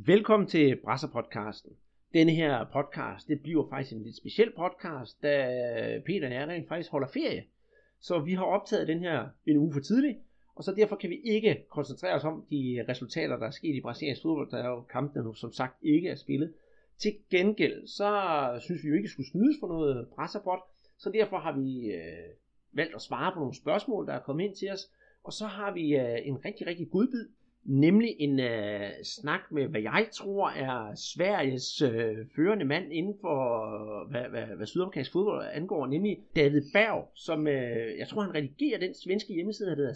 Velkommen til Brasser-podcasten. Denne her podcast, det bliver faktisk en lidt speciel podcast, da Peter og jeg rent faktisk holder ferie. Så vi har optaget den her en uge for tidligt, og så derfor kan vi ikke koncentrere os om de resultater, der er sket i brasiliansk fodbold, der er jo kampene nu som sagt ikke er spillet. Til gengæld, så synes vi jo ikke, skulle snydes for noget Brasser-pod, så derfor har vi valgt at svare på nogle spørgsmål, der er kommet ind til os, og så har vi en rigtig, rigtig godbid, nemlig en snak med, hvad jeg tror er Sveriges førende mand inden for, hvad sydamerikansk fodbold angår, nemlig David Berg, som jeg tror, han redigerer den svenske hjemmeside, der hedder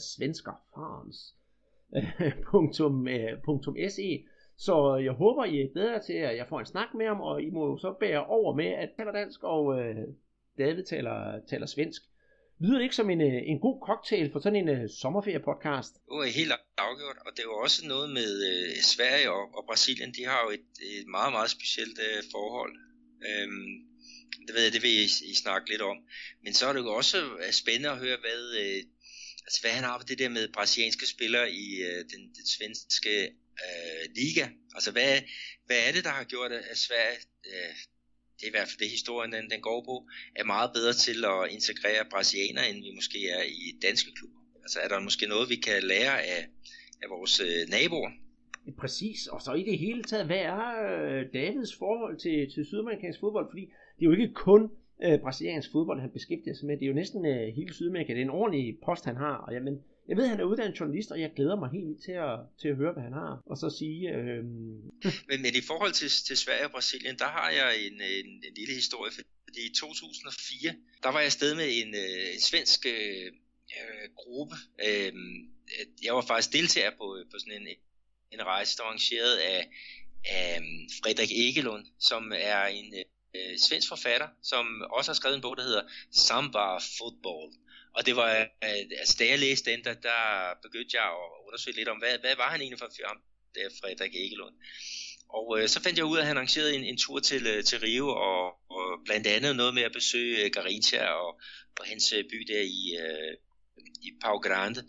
svenskerfans.se. Så jeg håber, I er bedre til, at jeg får en snak med ham, og I må jo så bære over med, at jeg taler dansk, og David taler svensk. Lyder det ikke som en god cocktail for sådan en sommerferie-podcast? Det er helt afgjort, og det er jo også noget med Sverige og Brasilien. De har jo et meget, meget specielt forhold. Det vil I snakke lidt om. Men så er det jo også spændende at høre, hvad han har på det der med brasilianske spillere i den svenske liga. Altså hvad er det, der har gjort, at Sverige... det er i hvert fald det historien, den går på, er meget bedre til at integrere brasilianere, end vi måske er i danske klubber. Altså er der måske noget, vi kan lære af vores naboer? Præcis, og så i det hele taget, hvad er Davids forhold til sydamerikansk fodbold? Fordi det er jo ikke kun brasiliansk fodbold, han beskæftiger sig med, det er jo næsten hele Sydamerika, det er en ordentlig post, han har, og jamen, jeg ved, at han er uddannet journalist, og jeg glæder mig helt vildt til at høre, hvad han har, og så sige... Men i forhold til Sverige og Brasilien, der har jeg en lille historie, fordi i 2004, der var jeg afsted med en svensk gruppe. Jeg var faktisk deltager på sådan en rejse, der var arrangeret af Fredrik Egelund, som er en svensk forfatter, som også har skrevet en bog, der hedder Samba Football. Og det var, altså da jeg læste den, der begyndte jeg at undersøge lidt om, hvad var han egentlig for ham, der Fredrik Egelund. Og så fandt jeg ud af, at han arrangerede en tur til Rio, og blandt andet noget med at besøge Garrincha og hans by der i Pau Grande.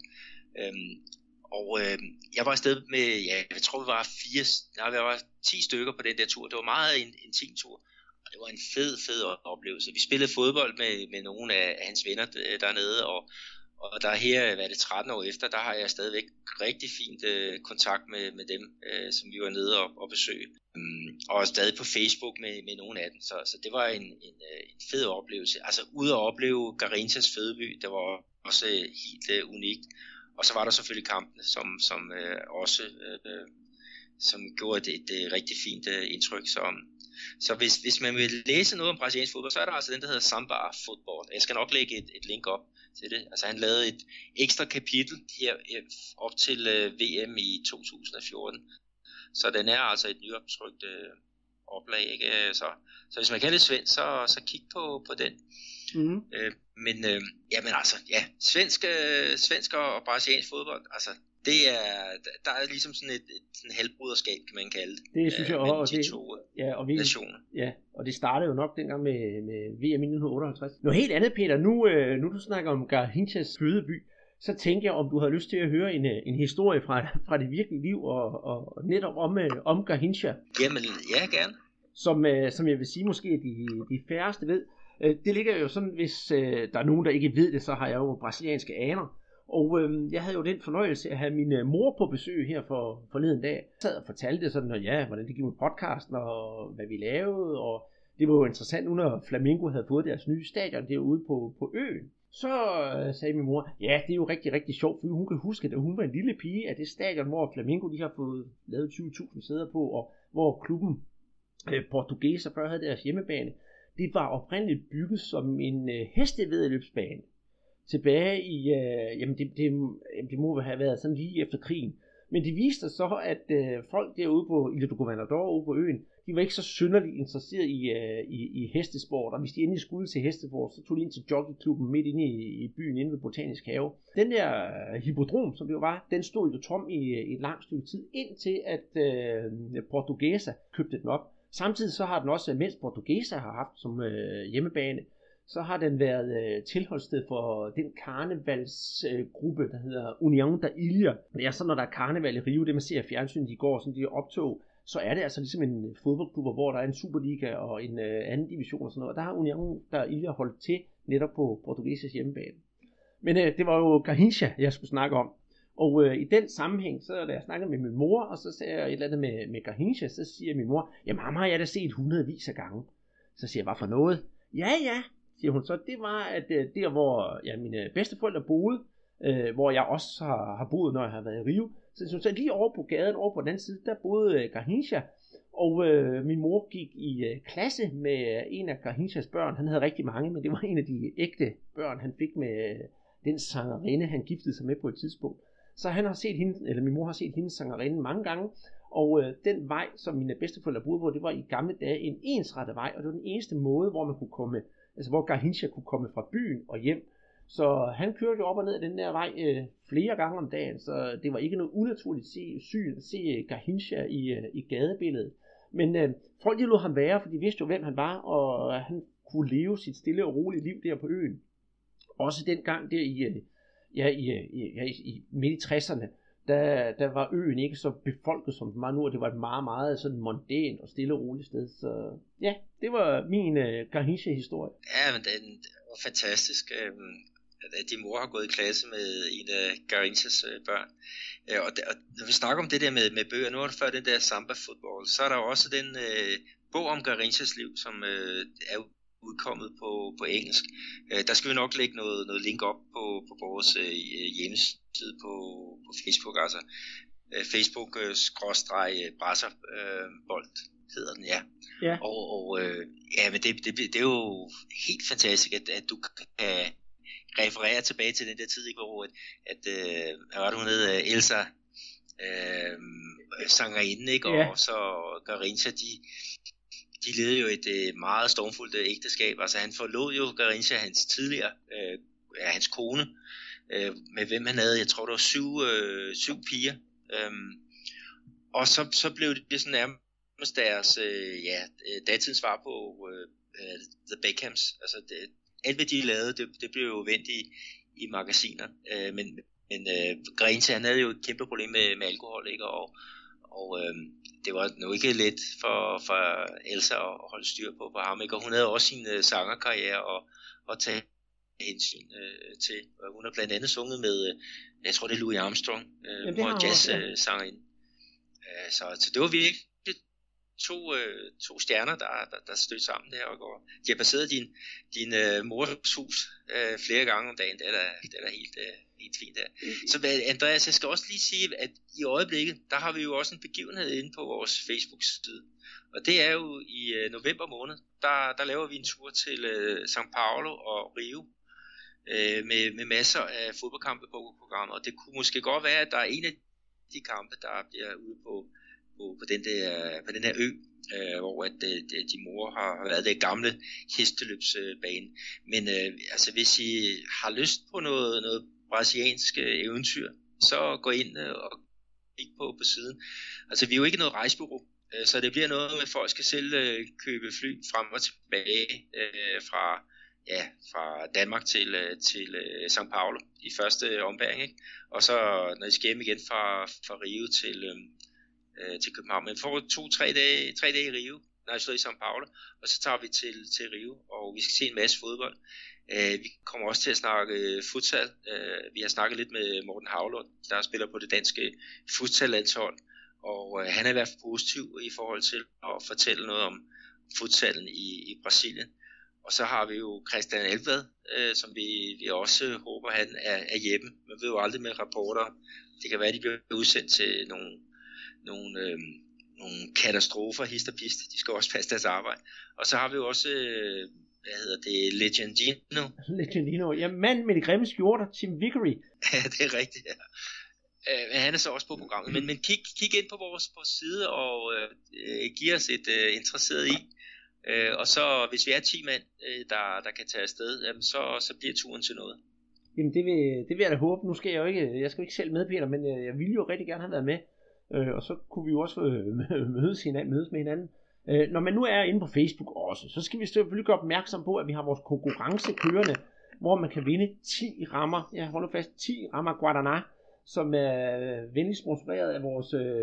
Jeg var afsted med, jeg tror vi var 10 stykker på den der tur. Det var meget en intim tur. Det var en fed oplevelse. Vi spillede fodbold med nogle af hans venner dernede, og der her, 13 år efter, der har jeg stadigvæk rigtig fint kontakt med dem, som vi var nede og besøge. Og stadig på Facebook med nogle af dem. Så det var en fed oplevelse. Altså ud at opleve Garrinchas fødeby, det var også helt unikt. Og så var der selvfølgelig kampene, som også som gjorde et rigtig fint indtryk. Så hvis man vil læse noget om brasiliansk fodbold, så er der altså den, der hedder Samba Football. Jeg skal nok lægge et link op til det. Altså han lavede et ekstra kapitel her op til VM i 2014. Så den er altså et nyoptrykt oplag, ikke? Så hvis man kan lidt svensk, så kig på den. Mm-hmm. Jamen altså, ja, svensk og brasiliansk fodbold, altså der er ligesom sådan et halvbruderskab, kan man kalde det. Det synes jeg også, og de to nationer. Ja, og det startede jo nok dengang med VM i 1958. Noget helt andet, Peter, nu du snakker om Garrinchas fødeby, så tænker jeg, om du har lyst til at høre en historie fra det virkelige liv, og netop om Garrincha. Jamen, ja, gerne. Som jeg vil sige, måske de færreste ved. Det ligger jo sådan, hvis der er nogen, der ikke ved det, så har jeg jo brasilianske aner. Og jeg havde jo den fornøjelse at have min mor på besøg her forleden dag. Jeg sad og fortalte sådan, hvordan det gik med podcasten, og hvad vi lavede, og det var jo interessant, nu når Flamengo havde fået deres nye stadion derude på øen. Så sagde min mor, ja, det er jo rigtig, rigtig sjovt, for hun kan huske, at hun var en lille pige af det stadion, hvor Flamengo de har fået lavet 20.000 sæder på, og hvor klubben Portuguesa før havde deres hjemmebane. Det var oprindeligt bygget som en hestevæddeløbsbane. Tilbage i, det må have været sådan lige efter krigen. Men det viste sig så, at folk derude på Ilha do Governador ude på øen, de var ikke så synderligt interesseret i hestesport, og hvis de endelig skulle til hestesport, så tog de ind til jockeyklubben midt inde i byen, inde ved Botanisk Have. Den der hippodrom, som det jo var, den stod jo tom i et langt stykke tid, indtil at Portuguesa købte den op. Samtidig så har den også, mens Portuguesa har haft som hjemmebane, så har den været tilholdssted for den karnevalsgruppe, der hedder União da Ilha. Det er så, når der er karneval i Rio, det man ser i fjernsynet, de går sådan de optog, så er det altså ligesom en fodboldklub, hvor der er en Superliga og en anden division og sådan noget. Og der har União da Ilha holdt til netop på Portugueses hjemmebane. Men det var jo Garrincha, jeg skulle snakke om. Og i den sammenhæng, så da jeg snakkede med min mor, og så sagde jeg et eller andet med Garrincha, så siger min mor, jamen ham har jeg da set hundredvis af gange. Så siger jeg, hvad for noget? Ja, siger hun så. Det var, at der hvor mine bedsteforældre boede, hvor jeg også har boet, når jeg har været i Rio, så lige over på gaden, over på den anden side, der boede Garrincha. Og min mor gik i klasse med en af Garrinchas børn. Han havde rigtig mange, men det var en af de ægte børn, han fik med den sangerinde, han giftede sig med på et tidspunkt. Så han har set hende, eller min mor har set hendes sangerinde mange gange. Og den vej, som mine bedsteforældre boede på, det var i gamle dage en ensrettet vej, og det var den eneste måde, hvor man kunne komme, altså hvor Garrincha kunne komme fra byen og hjem. Så han kørte jo op og ned ad den der vej flere gange om dagen, så det var ikke noget unaturligt syn at se Garrincha i gadebilledet. Men folk de lod ham være, for de vidste jo, hvem han var, og han kunne leve sit stille og rolige liv der på øen. Også dengang der i midt i 60'erne, der var øen ikke så befolket som den var nu, og det var et meget, meget sådan mondænt og stille og roligt sted. Så ja, det var min Garrincha-historie. Ja, men den var fantastisk. At din mor har gået i klasse med en af Garrinchas børn. Og når vi snakker om det der med bøger, nu er det før den der Samba Football, så er der jo også den bog om Garrinchas liv, som er udkommet på engelsk. Der skal vi nok lægge noget link op på vores hjemmeside på Facebook, altså Facebook-brasserbold hedder den, ja. Og men det er jo helt fantastisk, at du kan referere tilbage til den der tid, ikke, hvor hun hed Elsa sangerinden, ikke, og så Garrincha, de levede jo et meget stormfuldt ægteskab. Altså han forlod jo Garrincha, hans tidligere, hans kone, med hvem han havde, jeg tror det var syv piger, og så blev det sådan nærmest deres datidens svar på The Beckhams. Altså alt hvad de lavede, det blev jo vendt i magasiner, men Garrincha, han havde jo et kæmpe problem med alkohol, ikke, og det var nu ikke let for Elsa at holde styr på ham, ikke? Og hun havde også sin sangerkarriere at tage hensyn til. Og hun har blandt andet sunget med, jeg tror det er Louis Armstrong, jazz-sangerinde. Så det var virkelig to stjerner, der stødte sammen der, og de har passeret din mors hus flere gange om dagen. Det er da helt fint der. Så Andreas, jeg skal også lige sige, at i øjeblikket, der har vi jo også en begivenhed inde på vores Facebook-side. Og det er jo i november måned, der laver vi en tur til São Paulo og Rio med masser af fodboldkampe på programmet. Og det kunne måske godt være, at der er en af de kampe, der bliver ude på den her ø, hvor at de mor har været det gamle hesteløbsbane. Men altså hvis I har lyst på noget brasiliansk eventyr, så gå ind og kig på siden. Altså vi er jo ikke noget rejsebureau, så det bliver noget med, at folk skal selv købe fly frem og tilbage fra Danmark til São Paulo i første ombæring, ikke? Og så når I skal hjem igen fra Rio til København. Men vi får 3 dage i Rio, når jeg står i São Paulo, og så tager vi til Rio, og vi skal se en masse fodbold. Vi kommer også til at snakke futsal. Vi har snakket lidt med Morten Havlund, der spiller på det danske futsal-landshold, og han er i hvert fald positiv i forhold til at fortælle noget om futsalen i Brasilien. Og så har vi jo Christian Elvad, som vi også håber, han er hjemme. Man ved jo aldrig med rapporter. Det kan være, at de bliver udsendt til nogle katastrofer, hist og pist. De skal også passe deres arbejde. Og så har vi jo også, Legendino. Ja, mand med de grimme skjorter, Tim Vickery. Ja, det er rigtigt, ja. Men han er så også på programmet. Men kig ind på vores side og giv os et interesseret i. Og så hvis vi er 10 mand, der kan tage afsted, jamen, så bliver turen til noget. Jamen det vil jeg da håbe. Nu skal jeg skal ikke selv med, Peter, men jeg ville jo rigtig gerne have været med. Og så kunne vi jo også mødes med hinanden. Når man nu er inde på Facebook også, så skal vi selvfølgelig gøre opmærksom på, at vi har vores konkurrence kørende, hvor man kan vinde 10 rammer. Jeg holder fast, 10 rammer Guaraná, som er venligt sponsoreret af vores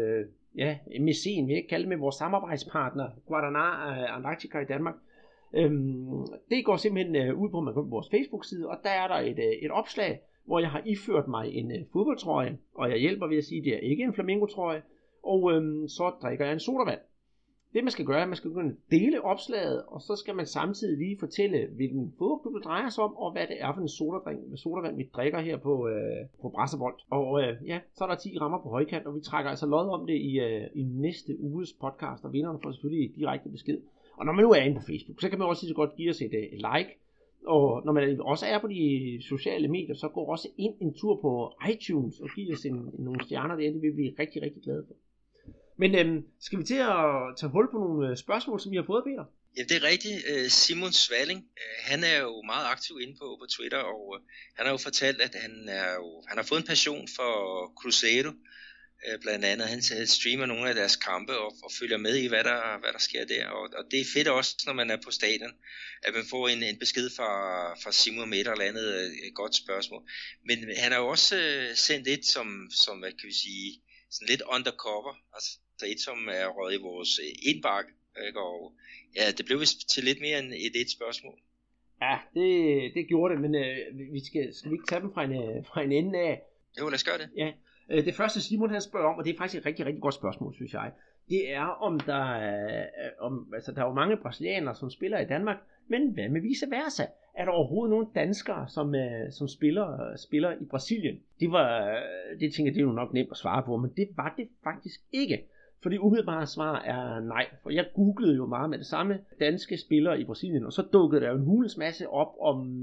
mæcen, vi ikke kalde det, med vores samarbejdspartner, Guadalajara Antarctica i Danmark. Det går simpelthen ud på, at man går på vores Facebook-side, og der er der et opslag, hvor jeg har iført mig en fodboldtrøje, og jeg hjælper ved at sige, at det er ikke en flamingotrøje, og så drikker jeg en sodavand. Det man skal gøre, er, at man skal dele opslaget, og så skal man samtidig lige fortælle, hvilken fodboldklub det drejer sig om, og hvad det er for en sodavand, vi drikker her på Brasserbold. Og så er der 10 rammer på højkant, og vi trækker altså lod om det i næste uges podcast, og vinderne får selvfølgelig direkte besked. Og når man nu er inde på Facebook, så kan man også lige så godt give os et like. Og når man også er på de sociale medier, så går også ind en tur på iTunes og giver os nogle stjerner der. Det vil vi blive rigtig, rigtig glade for. Men skal vi til at tage hul på nogle spørgsmål, som I har fået, Peter? Ja, det er rigtigt. Simon Svalling, han er jo meget aktiv inde på Twitter, og han har jo fortalt, at han har fået en passion for Cruzeiro. Blandt andet, han streamer nogle af deres kampe og følger med i, hvad der sker der. Og det er fedt også, når man er på stadion, at man får en besked fra Simon med et eller andet godt spørgsmål. Men han har jo også sendt et, som hvad kan vi sige, sådan lidt undercover, altså et, som er røget i vores indbakke. Og ja, det blev vist til lidt mere end et spørgsmål. Ja, det gjorde det, men skal vi ikke tage dem fra en ende af? Jo, lad os gøre det. Ja. Det første Simon han spørger om, og det er faktisk et rigtig, rigtig godt spørgsmål, synes jeg, det er altså der er jo mange brasilianere, som spiller i Danmark, men hvad med vice versa? Er der overhovedet nogle danskere, som spiller i Brasilien? Det tænker jeg, det er jo nok nemt at svare på, men det var det faktisk ikke. For det umiddelbare svar er nej. For jeg googlede jo meget med det samme danske spillere i Brasilien, og så dukkede der jo en hulens masse op om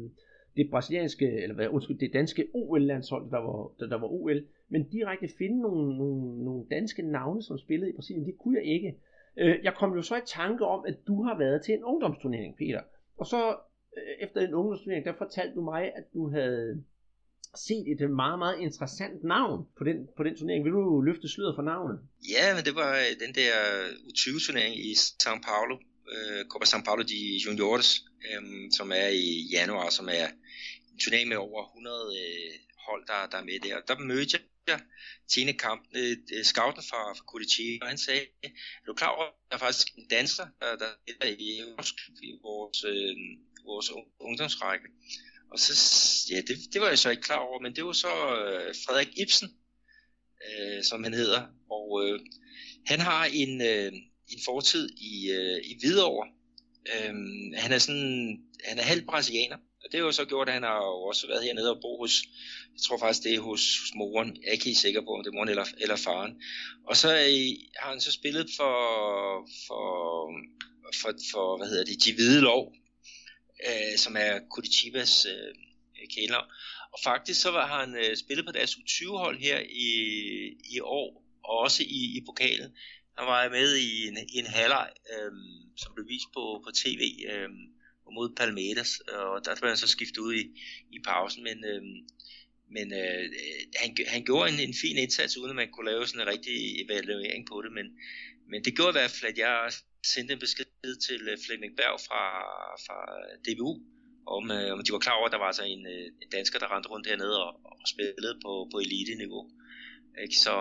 det danske OL-landshold, der var OL. Men direkte finde nogle danske navne, som spillede i Brasilien, det kunne jeg ikke. Jeg kom jo så i tanke om, at du har været til en ungdomsturnering, Peter. Og så efter en ungdomsturnering, der fortalte du mig, at du havde set et meget, meget interessant navn på den turnering. Vil du løfte sløret for navnet? Ja, men det var den der U20-turnering i São Paulo, Copa São Paulo de Juniores, som er i januar, som er en turnering med over 100 hold, der er med der. Der mødte jeg Tine Kamp, scouten fra Curitiba, og han sagde, er du klar over, at der er faktisk en danser, der er i vores ungdomsrække? Og så, ja, det var jeg så ikke klar over, men det var så Frederik Ibsen, som han hedder, og han har en fortid i Hvidovre. Han er halvt brasilianer, og det har jo så gjort, at han har jo også været hernede og bo hos, jeg tror faktisk det er hos moren, jeg er ikke helt sikker på, om det er moren eller faren. Og så har han så spillet for hvad hedder det, De Hvide Lov, som er Curitibas kæler. Og faktisk så har han spillet på deres U20-hold her i år, og også i pokalen. Han var med i en halvleg, som blev vist på tv mod Palmeiras, og der blev han så skiftet ud i pausen, men han gjorde en fin indsats, uden at man kunne lave sådan en rigtig evaluering på det, men det gjorde i hvert fald, at jeg sendte en besked til Flemming Berg fra DBU, om de var klar over, at der var altså en dansker, der rendte rundt hernede og spillede på elite-niveau. Ikke? Så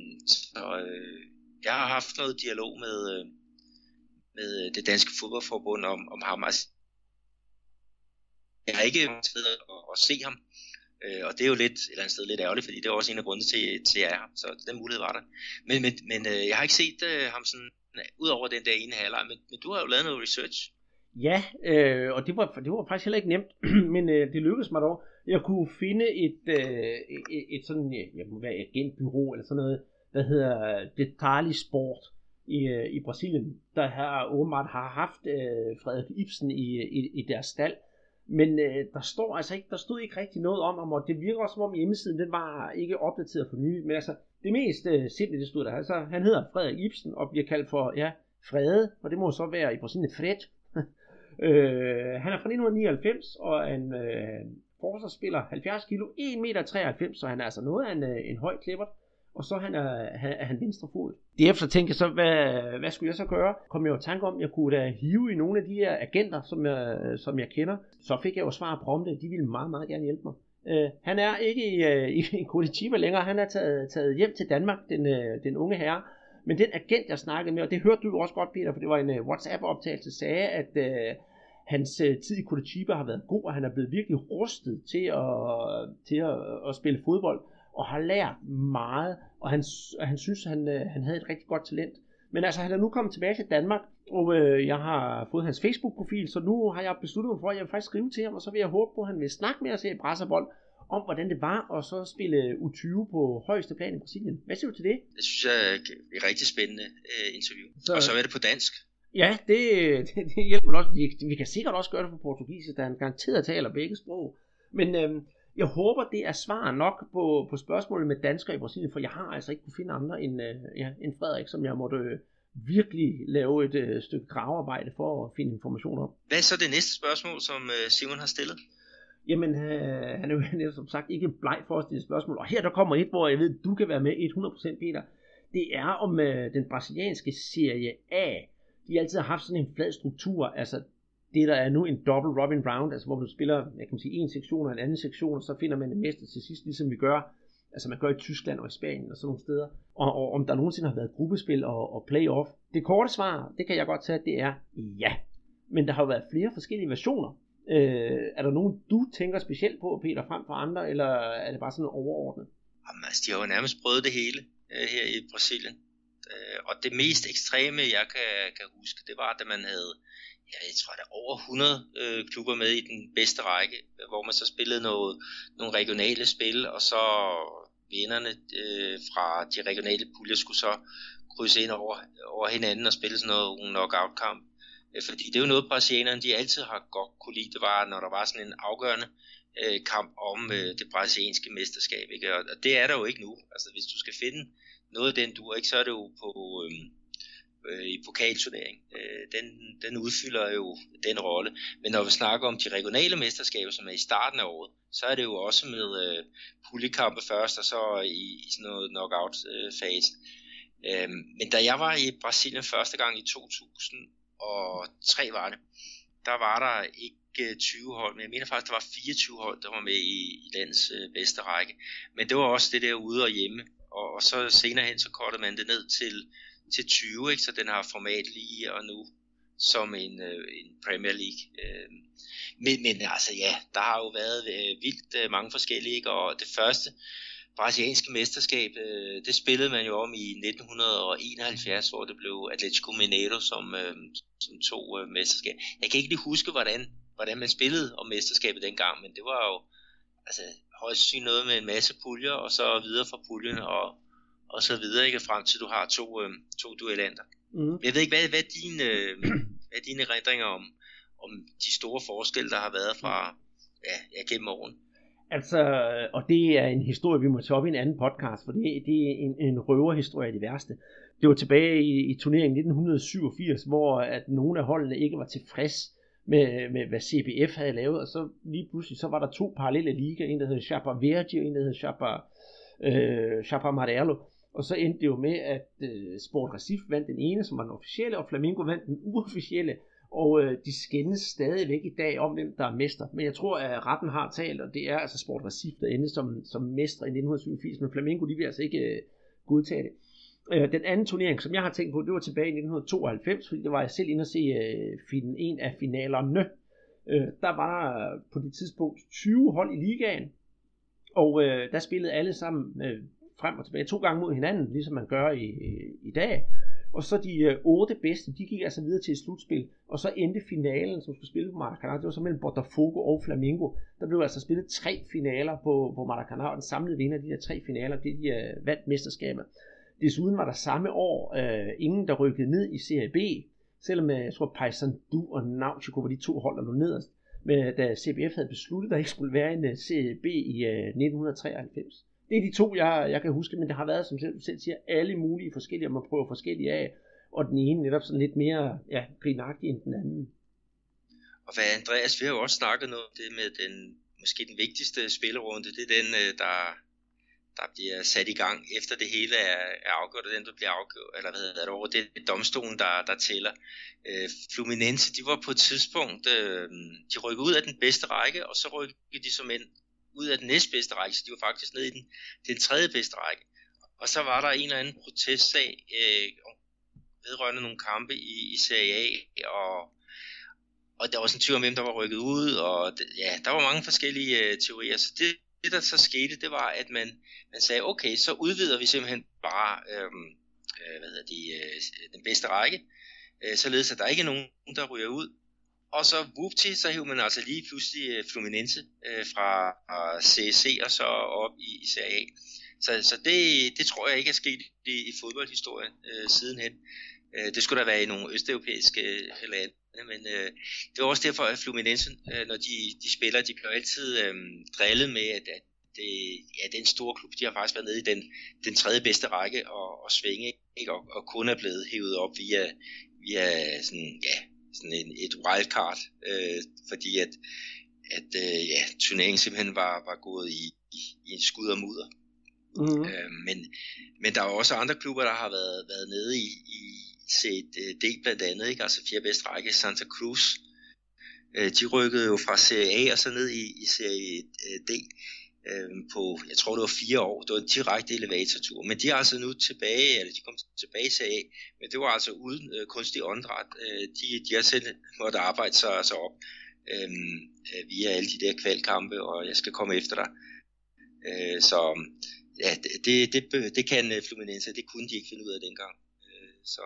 jeg har haft noget dialog med det danske fodboldforbund om ham. Altså, jeg har ikke tid at se ham, og det er jo et eller andet sted lidt ærgerligt, fordi det er også en af grundene til at jeg er her, så den mulighed var der. Men jeg har ikke set ham sådan, ud over den der ene halvleg, men du har jo lavet noget research. Ja, og det var faktisk heller ikke nemt, men det lykkedes mig dog. Jeg kunne finde et sådan, jeg må være agentbyrå eller sådan noget, der hedder Detalhe Sport i Brasilien, der åbenbart har haft Frederik Ibsen i deres stald. Men der stod ikke rigtig noget om ham, og det virker også som om hjemmesiden, den var ikke opdateret for nylig. Men altså, det mest simple, det stod der. Altså, han hedder Frederik Ibsen og bliver kaldt for, Frede, og det må så være i Brasilien Fred. Han er fra 1999, og en forsvarsspiller, 70 kilo, 1,93 meter, så han er altså noget af en høj klippert. Og så er han venstrefodet. Derefter tænkte jeg så, hvad skulle jeg så gøre? Kom jeg jo i tanke om, at jeg kunne da hive i nogle af de her agenter, som jeg kender. Så fik jeg jo svar prompte, de ville meget, meget gerne hjælpe mig. Han er ikke i Curitiba længere. Han er taget hjem til Danmark, den unge herre. Men den agent, jeg snakkede med, og det hørte du jo også godt, Peter, for det var en WhatsApp-optagelse, sagde, at hans tid i Curitiba har været god, og han er blevet virkelig rustet til at spille fodbold, og har lært meget, og han synes, han havde et rigtig godt talent. Men altså, han er nu kommet tilbage til Danmark, og jeg har fået hans Facebook-profil, så nu har jeg besluttet mig for, at jeg vil faktisk skrive til ham, og så vil jeg håbe på, at han vil snakke med os her i Brasserbold, om hvordan det var, og så spille U20 på højeste plan i Brasilien. Hvad siger du til det? Det synes jeg er et rigtig spændende interview. Og så er det på dansk. Ja, det hjælper også. Vi kan sikkert også gøre det på portugisisk, da han garanteret taler begge sprog. Men jeg håber, det er svar nok på spørgsmålet med danskere i Brasilien, for jeg har altså ikke kunne finde andre end Frederik, som jeg måtte virkelig lave et stykke gravearbejde for at finde information om. Hvad er så det næste spørgsmål, som Simon har stillet? Jamen, han er jo som sagt ikke bleg for at stille spørgsmål. Og her der kommer et, hvor jeg ved, du kan være med 100%, Peter. Det er om den brasilianske Serie A. De har altid haft sådan en flad struktur. Altså, det der er nu en double Robin round, altså hvor du spiller, jeg kan sige, en sektion og en anden sektion, og så finder man det mester til sidst, ligesom vi gør. Altså man gør i Tyskland og i Spanien og sådan nogle steder. Og om der nogensinde har været gruppespil og playoff. Det korte svar, det kan jeg godt tage, det er ja. Men der har jo været flere forskellige versioner. Er der nogen, du tænker specielt på, Peter, frem for andre, eller er det bare sådan noget overordnet? Jamen, altså, de har jo nærmest prøvet det hele her i Brasilien. Og det mest ekstreme, jeg kan huske, det var, da man havde, jeg tror, der over 100 klubber med i den bedste række, hvor man så spillede nogle regionale spil, og så vinderne fra de regionale puljer skulle så krydse ind over hinanden og spille sådan noget knockout-kamp. Fordi det er jo noget, brasilianerne de altid har godt kunne lide, det var, når der var sådan en afgørende kamp om det brasilianske mesterskab, ikke? Og det er der jo ikke nu. Altså hvis du skal finde noget af den dur, ikke, så er det jo på i pokalturnering. Den udfylder jo den rolle. Men når vi snakker om de regionale mesterskaber, som er i starten af året, så er det jo også med puljekampe først, og så i sådan noget knockout-fase. Men da jeg var i Brasilien første gang i 2003 var det, der var der ikke 20 hold, men jeg mener faktisk, der var 24 hold, der var med i landets bedste række. Men det var også det der ude og hjemme, og så senere hen, så kortede man det ned til 20, ikke? Så den har format lige og nu som en Premier League. Men altså ja, der har jo været vildt mange forskellige, ikke? Og det første brasilianske mesterskab, det spillede man jo om i 1971, hvor det blev Atlético Mineiro, som tog mesterskab. Jeg kan ikke lige huske, hvordan man spillede om mesterskabet dengang, men det var jo altså højst synligt noget med en masse puljer, og så videre fra puljen, og så videre, ikke, frem til du har to duellanter. Jeg ved ikke, hvad er dine erindringer om de store forskelle, der har været fra gennem årene? Altså, og det er en historie, vi må tage op i en anden podcast, for det er en røverhistorie af det værste. Det var tilbage i turneringen 1987, hvor at nogle af holdene ikke var tilfreds med hvad CBF havde lavet, og så lige pludselig så var der to parallelle ligaer, en der hed Chapa Verde og en der hed Chapa Amarelo, og så endte det jo med, at Sport Recife vandt den ene, som var den officielle, og Flamengo vandt den uofficielle, og de skændes stadigvæk i dag om, hvem der er mester. Men jeg tror, at retten har talt, og det er altså Sport Recife, der endte som mestre i 1987, men Flamengo, de vil altså ikke godtage det. Den anden turnering, som jeg har tænkt på, det var tilbage i 1992, fordi det var jeg selv inde at se en af finalerne. Der var på det tidspunkt 20 hold i ligaen, og der spillede alle sammen frem og tilbage 2 gange mod hinanden, ligesom man gør i dag. Og så de 8 bedste, de gik altså videre til et slutspil, og så endte finalen, som skulle spille på Maracanã, det var så mellem Botafogo og Flamengo. Der blev altså spillet 3 finaler på Maracanã, og den samlede vinder af de der 3 finaler, det de vandt mesterskabet. Desuden var der samme år ingen, der rykkede ned i Serie B, selvom jeg tror Paysandu og Náutico var de 2 hold, der lå nederst. Men da CBF havde besluttet, at der ikke skulle være en Serie B i 1993. Det er de 2, jeg kan huske, men der har været, som du selv siger, alle mulige forskellige, og man prøver forskellige af, og den ene netop sådan lidt mere grinagtig end den anden. Og hvad Andreas, vi har jo også snakket noget om det med måske den vigtigste spillerunde, det er den, der bliver sat i gang efter det hele er afgjort, og den, der bliver afgjort, eller hvad hedder det over, det er domstolen, der tæller. Fluminense, de var på et tidspunkt, de rykkede ud af den bedste række, og så rykkede de som ud af den næstbedste række, så de var faktisk nede i den 3. bedste række. Og så var der en eller anden protestsag vedrørende nogle kampe i Serie A, og der var sådan en tvivl om, hvem der var rykket ud, og der var mange forskellige teorier. Så det, der så skete, det var, at man sagde, okay, så udvider vi simpelthen bare den bedste række, således at der ikke er nogen, der ryger ud. Og så så hiver man altså lige pludselig Fluminense fra CSC og så op i Serie A. Så det tror jeg ikke er sket i fodboldhistorien sidenhen. Det skulle da være i nogle østeuropæiske lande, men det var også derfor, at Fluminense, når de spiller, de bliver altid drillet med, at den store klub, de har faktisk været nede i den tredje bedste række og svinge, ikke? Og kun er blevet hævet op via sådan et wildcard, fordi at turneringen simpelthen var gået i en skud og mudder. Men der er også andre klubber, der har været nede i CD blandt andet, ikke? Altså fjerde bedste række, Santa Cruz. De rykkede jo fra Serie A og så ned i Serie D på, jeg tror det var 4 år. Det var en direkte elevatortur. Men de er altså nu tilbage, eller de kom tilbage i Serie A, men det var altså uden kunstig åndedræt. De har selv måttet arbejde sig op via alle de der kvalkampe, og jeg skal komme efter dig. Så ja, det kan Fluminense, det kunne de ikke finde ud af dengang. Så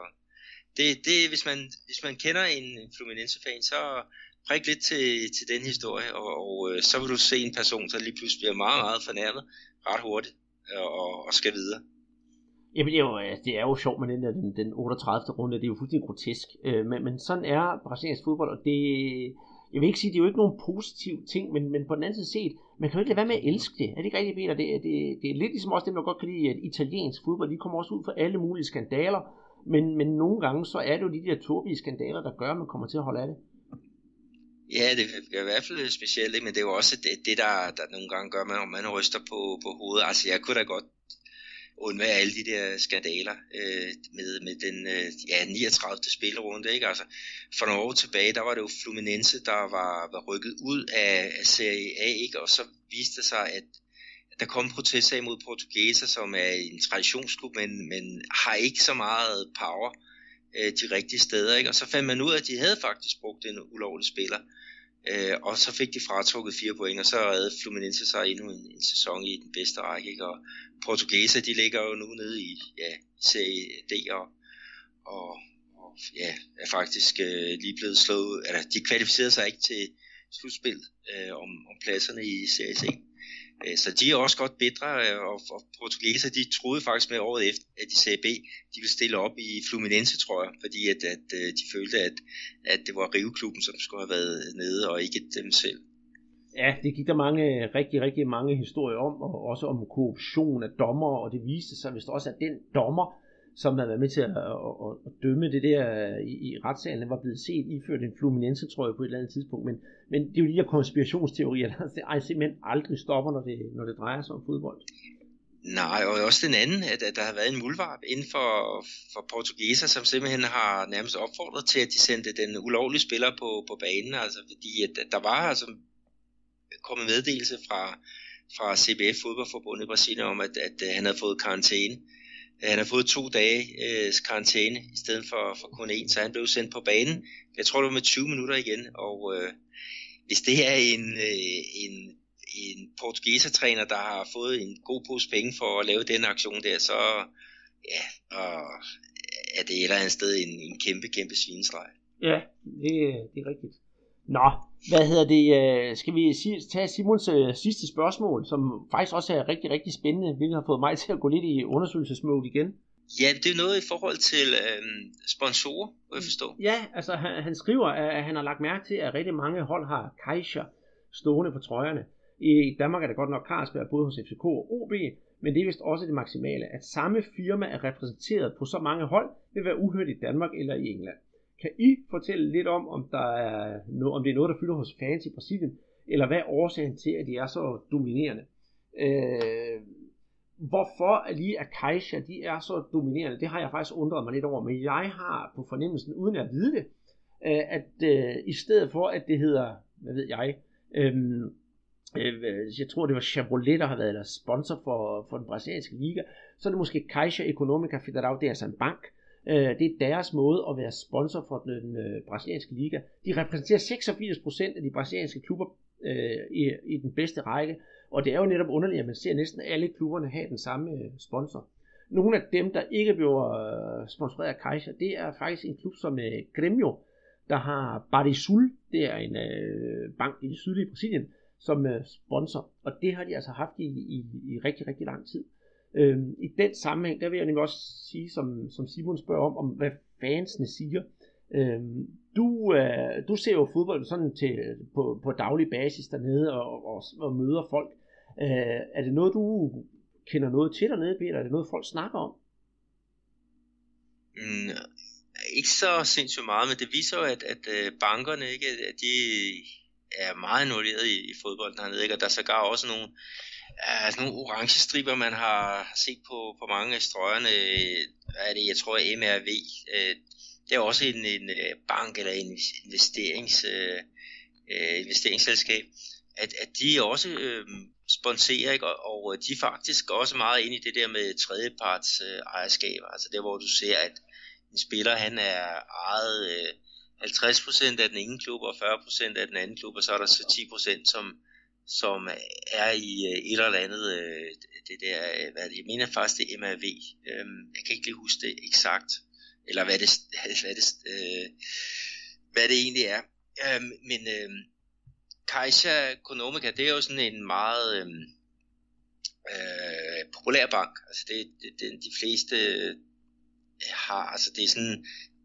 det hvis man kender en Fluminense-fan, så prik lidt til den historie, og så vil du se en person, der lige pludselig bliver meget, meget fornærmet ret hurtigt og skal videre. Jamen det er jo sjovt med den 38. runde, det er jo fuldstændig grotesk, men sådan er brasiliansk fodbold, og det, jeg vil ikke sige, det er jo ikke nogen positiv ting, men på den anden side set, man kan jo ikke lade være med at elske det. Er det ikke rigtigt, Peter? Det er lidt ligesom også dem, der godt kan lide, at italiensk fodbold, de kommer også ud for alle mulige skandaler, men nogle gange, så er det jo de der tåbelige skandaler, der gør, at man kommer til at holde af det. Ja, det er i hvert fald specielt, men det er jo også det der nogle gange gør, at man ryster på hovedet. Altså, jeg kunne da godt undvære alle de der skandaler med den 39. spillerunde, ikke? Altså, for nogle år tilbage, der var det jo Fluminense, der var rykket ud af Serie A, ikke? Og så viste det sig, at der kom en protestsag mod Portuguesa, som er en traditionsklub, men har ikke så meget power de rigtige steder, ikke? Og så fandt man ud af, at de havde faktisk brugt en ulovlig spiller, og så fik de fratrukket 4 point, og så redde Fluminense sig endnu en sæson i den bedste række, ikke? Og Portuguesa, de ligger jo nu nede i Serie D, og er faktisk lige blevet slået, eller de kvalificerede sig ikke til slutspil om pladserne i Serie C. Så de er også godt bedre, og Portuguesa, de troede faktisk med året efter, at de Serie B, de ville stille op i Fluminense, tror jeg, fordi at de følte, at det var Rio-klubben, som skulle have været nede, og ikke dem selv. Ja, det gik der rigtig mange historier om, og også om korruption af dommer, og det viste sig vist også, at den dommer, som havde været med til at dømme det der i retssagen, var blevet set iført en Fluminense, tror jeg, på et eller andet tidspunkt. Men det er jo de der konspirationsteorier, der simpelthen aldrig stopper, når det drejer sig om fodbold. Nej, og også den anden, at der har været en muldvarp inden for Portuguesa, som simpelthen har nærmest opfordret til, at de sendte den ulovlige spiller på banen, altså fordi at der var altså kommet meddelelse fra CBF Fodboldforbundet i Brasilien om, at han havde fået karantæne. Han har fået 2 dage karantæne i stedet for kun 1, så han blev sendt på banen. Jeg tror, det var med 20 minutter igen, og hvis det er en Portuguesa-træner, der har fået en god pose penge for at lave den aktion der, så er det et eller andet sted en kæmpe svinestreg. Ja, det er rigtigt. Nå, skal vi tage Simons sidste spørgsmål, som faktisk også er rigtig spændende, hvilket har fået mig til at gå lidt i undersøgelsesmode igen. Ja, det er noget i forhold til sponsorer, må jeg forstå. Ja, altså han skriver, at han har lagt mærke til, at rigtig mange hold har Caixa stående på trøjerne. I Danmark er det godt nok Carlsberg, både hos FCK og OB, men det er vist også det maksimale. At samme firma er repræsenteret på så mange hold, vil være uhørt i Danmark eller i England. Kan I fortælle lidt om det er noget, der fylder hos fans i Brasilien, eller hvad er årsagen til, at de er så dominerende? Hvorfor lige at Caixa, de er så dominerende, det har jeg faktisk undret mig lidt over, men jeg har på fornemmelsen, uden at vide det, at i stedet for, at det hedder, hvad ved jeg, jeg tror det var Chevrolet, der har været sponsor for den brasilianske liga, så er det måske Caixa Econômica Federal, det er altså en bank. Det er deres måde at være sponsor for den brasilianske liga. De repræsenterer 86% af de brasilianske klubber i den bedste række, og det er jo netop underligt, at man ser næsten alle klubberne have den samme sponsor. Nogle af dem, der ikke bliver sponsoreret af Caixa, det er faktisk en klub som Grêmio, der har Banrisul, det er en bank i det sydlige Brasilien, som sponsor, og det har de altså haft i rigtig, rigtig lang tid. I den sammenhæng, der vil jeg nemlig også sige, som Simon spørger om hvad fansene siger. Du ser jo fodbold sådan på daglig basis dernede og møder folk. Er det noget, du kender noget til dernede, Peter? Er det noget, folk snakker om? Ikke så sindssygt meget, men det viser jo, at bankerne, ikke, at de er meget involveret i fodbold dernede, ikke? Og der er sågar også nogle orange striber, man har set på mange af strøgerne. Er det, jeg tror, MRV. Det er også en bank eller en investeringsselskab, at de også sponsorer, ikke? Og de er faktisk også meget inde i det der med tredjeparts ejerskab. Altså der, hvor du ser, at en spiller, han er ejet 50% af den ene klub og 40% af den anden klub, og så er der så 10%, som er i et eller andet, det der, jeg mener faktisk det er MRV. Jeg kan ikke lige huske det eksakt, eller hvad det egentlig er. Men Caixa Econômica, det er jo sådan en meget populær bank. Altså det de fleste har, altså det er sådan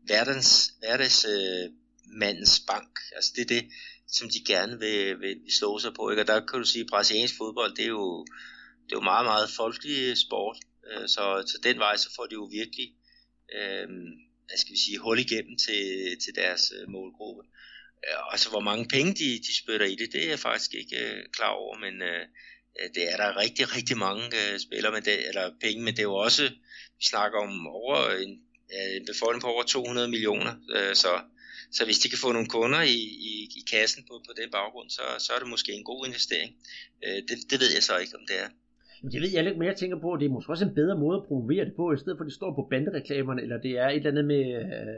hverdagsmandens bank. Altså det er det, som de gerne vil slå sig på, ikke? Og der kan du sige, at brasiliansk fodbold, det er jo meget, meget folkelig sport. Så den vej, så får de jo virkelig hul igennem til deres målgruppe. Altså hvor mange penge de spytter i det, det er jeg faktisk ikke klar over, men det er der rigtig, rigtig mange spillere med det, eller penge, men det er jo også, vi snakker om over en befolkning på over 200 millioner, så hvis de kan få nogle kunder i kassen på den baggrund, så er det måske en god investering. Det ved jeg så ikke, om det er. Det ved jeg lidt mere. Jeg tænker på, at det er måske også en bedre måde at promovere det på, i stedet for at det står på bandereklamerne, eller det er et eller andet med,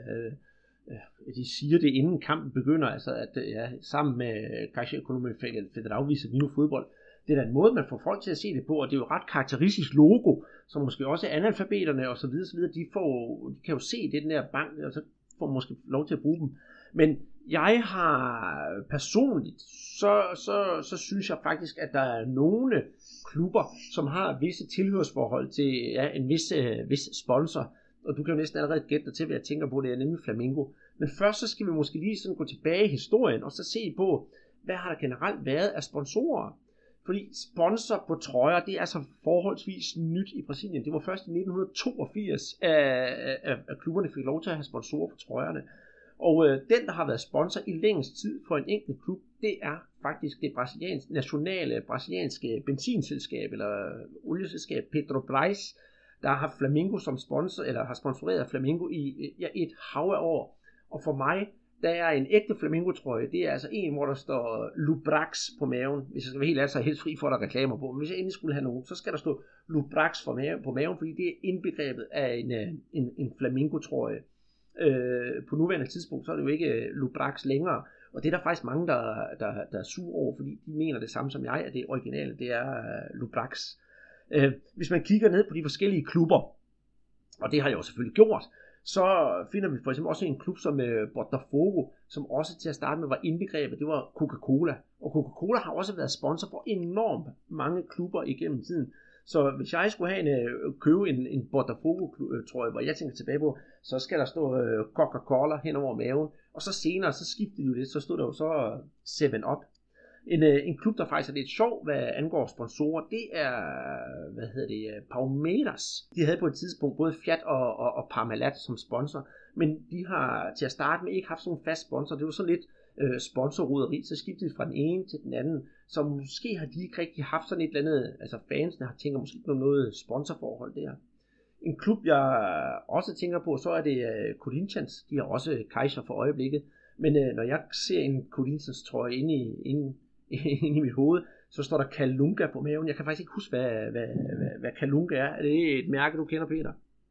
de siger det inden kampen begynder, altså at sammen med Caixa Econômica Federal viser vi nu fodbold. Det er da en måde, man får folk til at se det på, og det er jo ret karakteristisk logo, som måske også analfabeterne og så videre, de kan jo se det, den der bank, og så får måske lov til at bruge dem. Men jeg har personligt, så synes jeg faktisk, at der er nogle klubber, som har visse tilhørsforhold til en vis sponsor, og du kan jo næsten allerede gætte dig til, hvad jeg tænker på, det er nemlig Flamengo. Men først så skal vi måske lige sådan gå tilbage i historien, og så se på, hvad har der generelt været af sponsorer. Fordi sponsor på trøjer, det er altså forholdsvis nyt i Brasilien. Det var først i 1982, at klubberne fik lov til at have sponsorer på trøjerne. Og den, der har været sponsor i længst tid for en enkelt klub, det er faktisk det nationale brasilianske benzinselskab, eller olieselskab Petrobras, der har haft Flamengo som sponsor, eller har sponsoreret Flamengo i et hav af år. Og for mig, der er en ægte Flamengo-trøje, det er altså en, hvor der står Lubrax på maven. Hvis jeg skal være helt ærlig, så er jeg helt fri for, at der er reklamer på. Men hvis jeg endelig skulle have nogen, så skal der stå Lubrax på maven, fordi det er indbegrebet af en Flamengo-trøje. På nuværende tidspunkt, så er det jo ikke Lubrax længere. Og det er der faktisk mange, der er sur over, fordi de mener det samme som jeg, at det originale, det er Lubrax. Hvis man kigger ned på de forskellige klubber, og det har jeg jo selvfølgelig gjort, så finder vi for eksempel også en klub som Botafogo, som også til at starte med var indbegrebet, det var Coca-Cola. Og Coca-Cola har også været sponsor for enormt mange klubber igennem tiden. Så hvis jeg skulle købe en Botafogo-trøje, hvor jeg tænker tilbage på, så skal der stå Coca-Cola hen over maven. Og så senere, så skiftede jo det, så stod der jo så 7-Up. En klub, der faktisk er lidt sjov, hvad angår sponsorer, det er, Palmeiras. De havde på et tidspunkt både Fiat og Parmalat som sponsor, men de har til at starte med ikke haft sådan en fast sponsor. Det var så lidt sponsorroderi, så skiftede de fra den ene til den anden, så måske har de ikke rigtig haft sådan et eller andet, altså fansene har tænkt måske ikke noget sponsorforhold der. En klub, jeg også tænker på, så er det Corinthians. De har også Caixa for øjeblikket, men når jeg ser en Corinthians trøje inde i mit hoved, så står der Kalunga på maven. Jeg kan faktisk ikke huske, hvad Kalunga er. Er det et mærke, du kender, Peter?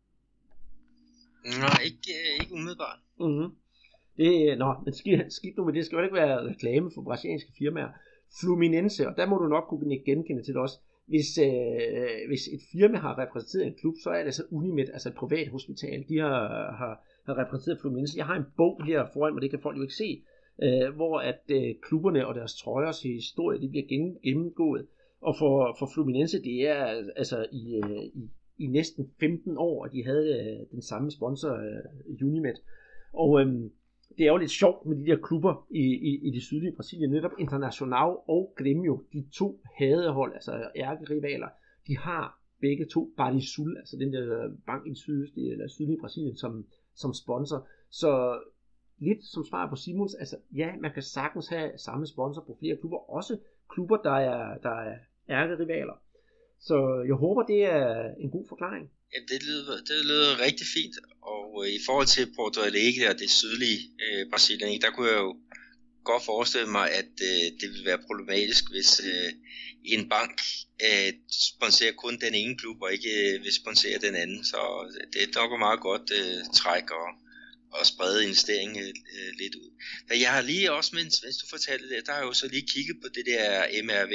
Nej, ikke umiddelbart. Mm-hmm. Men skidt nu med det. Skal jo ikke være reklame for brasilianske firmaer. Fluminense, og der må du nok kunne genkende til det også. Hvis et firma har repræsenteret en klub, så er det altså Unimed, altså et privat hospital. De har repræsenteret Fluminense. Jeg har en bog her foran mig, det kan folk jo ikke se, hvor at klubberne og deres trøjers historie, det bliver gennemgået. Og for Fluminense, det er altså i næsten 15 år, at de havde den samme sponsor, Unimed. Og det er jo lidt sjovt med de der klubber i det sydlige Brasilien, netop Internacional og Grêmio, de to hadehold, altså ærkerivaler, de har begge to Banrisul, altså den der bank i det sydlige Brasilien, som sponsor. Så lidt som svar på Simons, altså ja, man kan sagtens have samme sponsor på flere klubber, også klubber, der er ærkerivaler. Så jeg håber, det er en god forklaring. Ja, det lyder rigtig fint, og i forhold til Porto Alegre og det sydlige Brasilien, der kunne jeg jo godt forestille mig, at det ville være problematisk, hvis en bank sponsorer kun den ene klub, og ikke vil sponsere den anden. Så det er nok meget godt træk og sprede investeringen lidt ud. Men jeg har lige også, mens du fortalte det, der har jeg jo så lige kigget på det der MRV,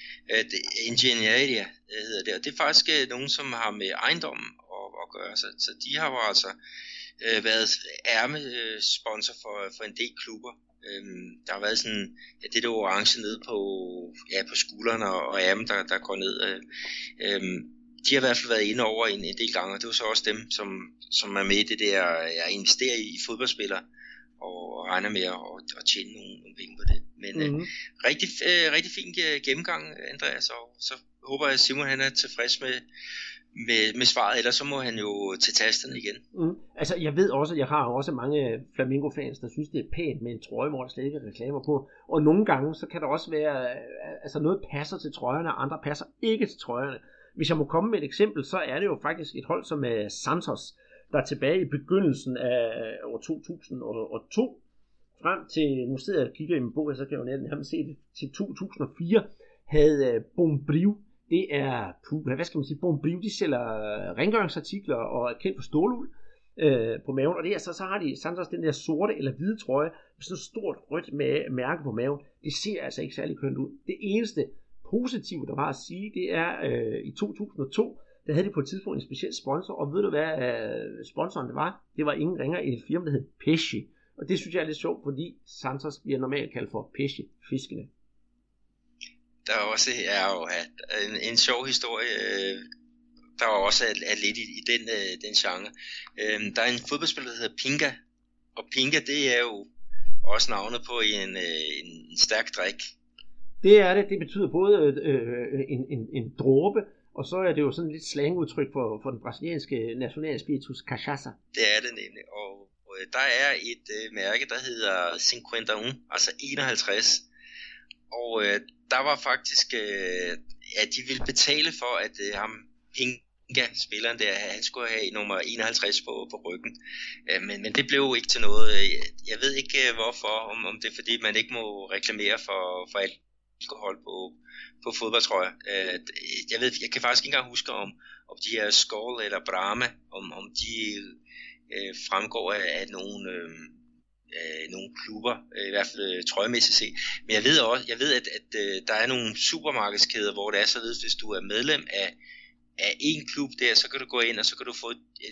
Engenharia hedder det, og det er faktisk nogen, som har med ejendommen at gøre, så de har jo altså været ærmesponsor for en del klubber. Der har været sådan, det der orange nede på skuldrene og ærmen, der går ned. De har i hvert fald været inde over en del gange, og det er så også dem, som er med i det der at investere i fodboldspillere og regner med at tjene nogle penge på det. Men rigtig fin gennemgang, Andreas, og så håber jeg, at Simon han er tilfreds med svaret, ellers så må han jo til tasterne igen. Altså jeg har også mange Flamengo-fans, der synes det er pænt med en trøje, hvor der slet ikke er reklamer på, og nogle gange så kan der også være, altså noget passer til trøjerne, og andre passer ikke til trøjerne. Hvis jeg må komme med et eksempel, så er det jo faktisk et hold som Santos, der tilbage i begyndelsen af år 2002, frem til, nu sidder jeg og kigger i min bog, så kan jeg jo nærmest se det, til 2004, havde Bombril. Det er, hvad skal man sige, Bombril, de sælger rengøringsartikler og er kendt for ståluld på maven, og det er så har de Santos den der sorte eller hvide trøje, med sådan et stort rødt mærke på maven. Det ser altså ikke særlig kønt ud. Det eneste positive, der var at sige, det er i 2002, der havde de på et tidspunkt en speciel sponsor, og ved du hvad sponsoren det var? Det var ingen ringer i et firma, der hed Peixe. Og det synes jeg er lidt sjovt, fordi Santos bliver normalt kaldt for Peixe-fiskene. Der er også en sjov historie, der er også lidt i den genre. Der er en fodboldspiller, der hedder Pinga, og Pinga, det er jo også navnet på en stærk drik. Det er det. Det betyder både en dråbe, og så er det jo sådan lidt slangudtryk for den brasilianske nationale spiritus, cachaça. Det er det nemlig, og der er et mærke, der hedder 51, altså 51, og der var faktisk, at de ville betale for, at ham Pinga, spilleren der, han skulle have nummer 51 på ryggen, men det blev jo ikke til noget. Jeg ved ikke hvorfor, om det er fordi, man ikke må reklamere for alkohol på fodboldtrøjer. Jeg kan faktisk ikke engang huske om de her Skol eller Brahma, om de fremgår af nogle klubber, i hvert fald trøjemæssigt set. Men jeg ved at der er nogle supermarkedskæder, hvor det er således, hvis du er medlem af en klub der, så kan du gå ind, og så kan du få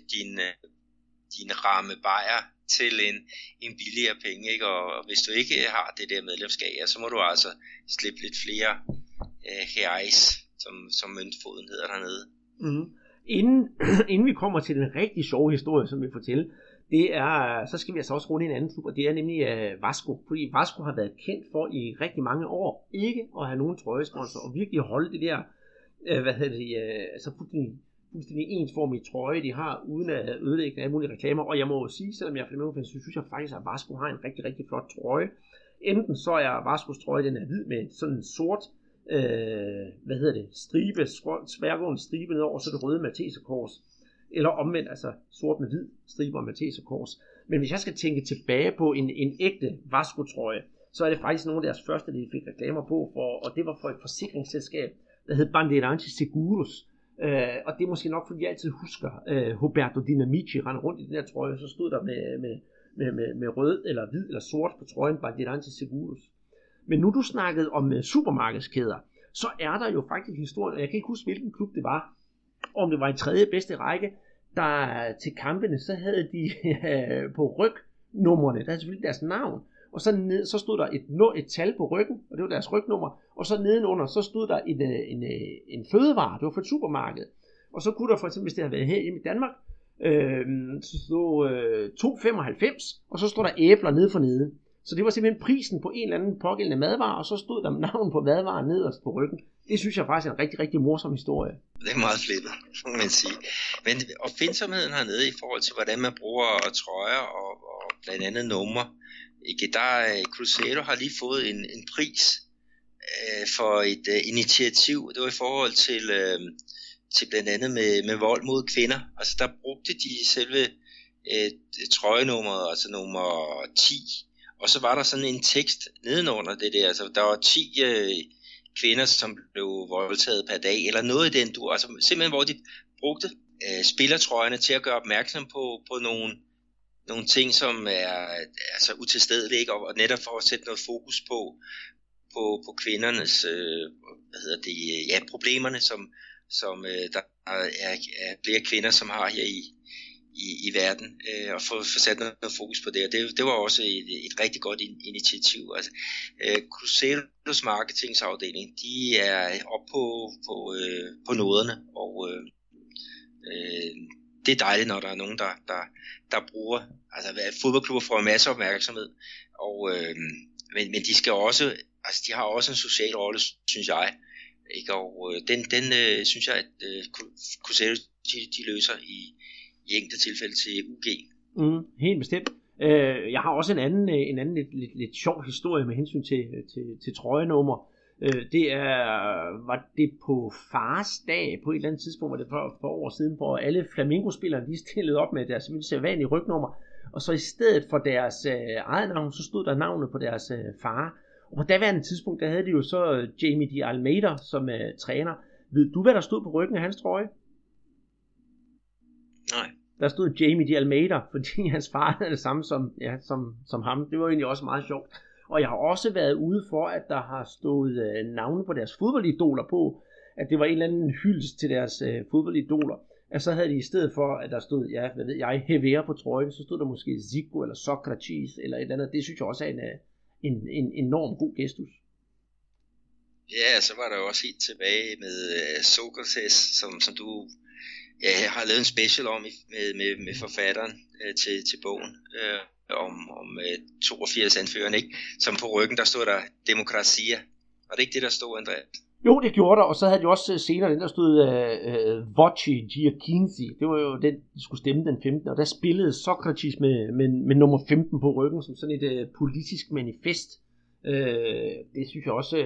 din ramme bajer til en billigere penge, ikke? Og hvis du ikke har det der medlemskab, ja, så må du altså slippe lidt flere reais, som møntfoden hedder dernede. Inden vi kommer til den rigtig sjove historie, som vi fortæller, det er, så skal vi altså også runde en anden klub, og det er nemlig Vasco, fordi Vasco har været kendt for i rigtig mange år ikke at have nogen trøjesponsor, og virkelig holde det der, altså fuldstændig ensformige trøje, de har, uden at ødelægge alle mulige reklamer. Og jeg må jo sige, selvom jeg er Flamengo-fan, så synes jeg faktisk, at Vasco har en rigtig, rigtig flot trøje. Enten så er Vascos trøje, den er hvid med sådan en sort, stribe, tværgående stribe nedover, så det røde Malteserkors. Eller omvendt, altså sort med hvid stribe og Malteserkors. Men hvis jeg skal tænke tilbage på en ægte Vasco-trøje, så er det faktisk nogle af deres første, de fik reklamer på, og det var for et forsikringsselskab, der hed Bandeirantes Seguros. Og det er måske nok, fordi jeg altid husker Roberto Dinamici rende rundt i den her trøje, så stod der med rød eller hvid eller sort på trøjen Bandeirantes Seguros. Men nu du snakkede om supermarkedskæder, så er der jo faktisk historien, og jeg kan ikke huske, hvilken klub det var, om det var i tredje bedste række, der til kampene, så havde de på rygnumrene, der er selvfølgelig deres navn, og så stod der et tal på ryggen, og det var deres rygnummer, og så nedenunder, så stod der en fødevare, det var for et supermarked, og så kunne der for eksempel, hvis det havde været her hjemme i Danmark, så stod 2,95, og så stod der æbler nede for neden. Så det var simpelthen prisen på en eller anden pågældende madvare, og så stod der navn på madvaren nederst på ryggen. Det synes jeg faktisk er en rigtig, rigtig morsom historie. Det er meget flippet, må man sige. Men opfindsomheden hernede i forhold til, hvordan man bruger trøjer og blandt andet numre, ikke? Der Cruzeiro har lige fået en pris for et initiativ. Det var i forhold til blandt andet med vold mod kvinder. Altså der brugte de selve trøjenummeret, altså nummer 10. Og så var der sådan en tekst nedenunder det der, altså der var 10 kvinder, som blev voldtaget per dag, eller noget i den dur, altså simpelthen hvor de brugte spillertrøjerne til at gøre opmærksom på nogle ting, som er altså utilstedelige, og netop for at sætte noget fokus på kvindernes problemerne, som der er flere kvinder, som har her i verden, og få sat noget fokus på det. Og det var også et rigtig godt initiativ. Altså, Cruzeiros marketingsafdeling, de er oppe på noderne, og det er dejligt, når der er nogen, der bruger, altså fodboldklubber får en masse opmærksomhed, og men de skal også, altså de har også en social rolle, synes jeg, ikke? Og den synes jeg, at Cruzeiro de løser i enkelte tilfælde til UG. Helt bestemt. Jeg har også en anden lidt sjov historie med hensyn til trøjenummer. Var det på fars dag på et eller andet tidspunkt, var det for år siden, hvor alle Flamengo-spillerne de stillede op med deres sædvanlige rygnummer, og så i stedet for deres eget navn, så stod der navnet på deres far. Og på daværende tidspunkt, der havde de jo så Jamie de Almeida som træner. Ved du, hvad der stod på ryggen af hans trøje? Nej. Der stod Jamie de Almeida, fordi hans far havde det samme som ham. Det var egentlig også meget sjovt. Og jeg har også været ude for, at der har stået navne på deres fodboldidoler på, at det var en eller anden hyldest til deres fodboldidoler. Og så havde de i stedet for, at der stod, Herrera på trøjen, så stod der måske Zico eller Socrates eller et eller andet. Det synes jeg også er en enorm god gestus. Ja, så var der jo også helt tilbage med Socrates, som du har lavet en special om med forfatteren til bogen om 82 anføreren, ikke? Som på ryggen, der stod der Democracia. Var det ikke det, der stod, Andreas? Jo, det gjorde der, og så havde de også senere den, der stod Voci Giacinzi. Det var jo den, de skulle stemme den 15. Og der spillede Socrates med nummer 15 på ryggen, som sådan et politisk manifest. Det synes jeg også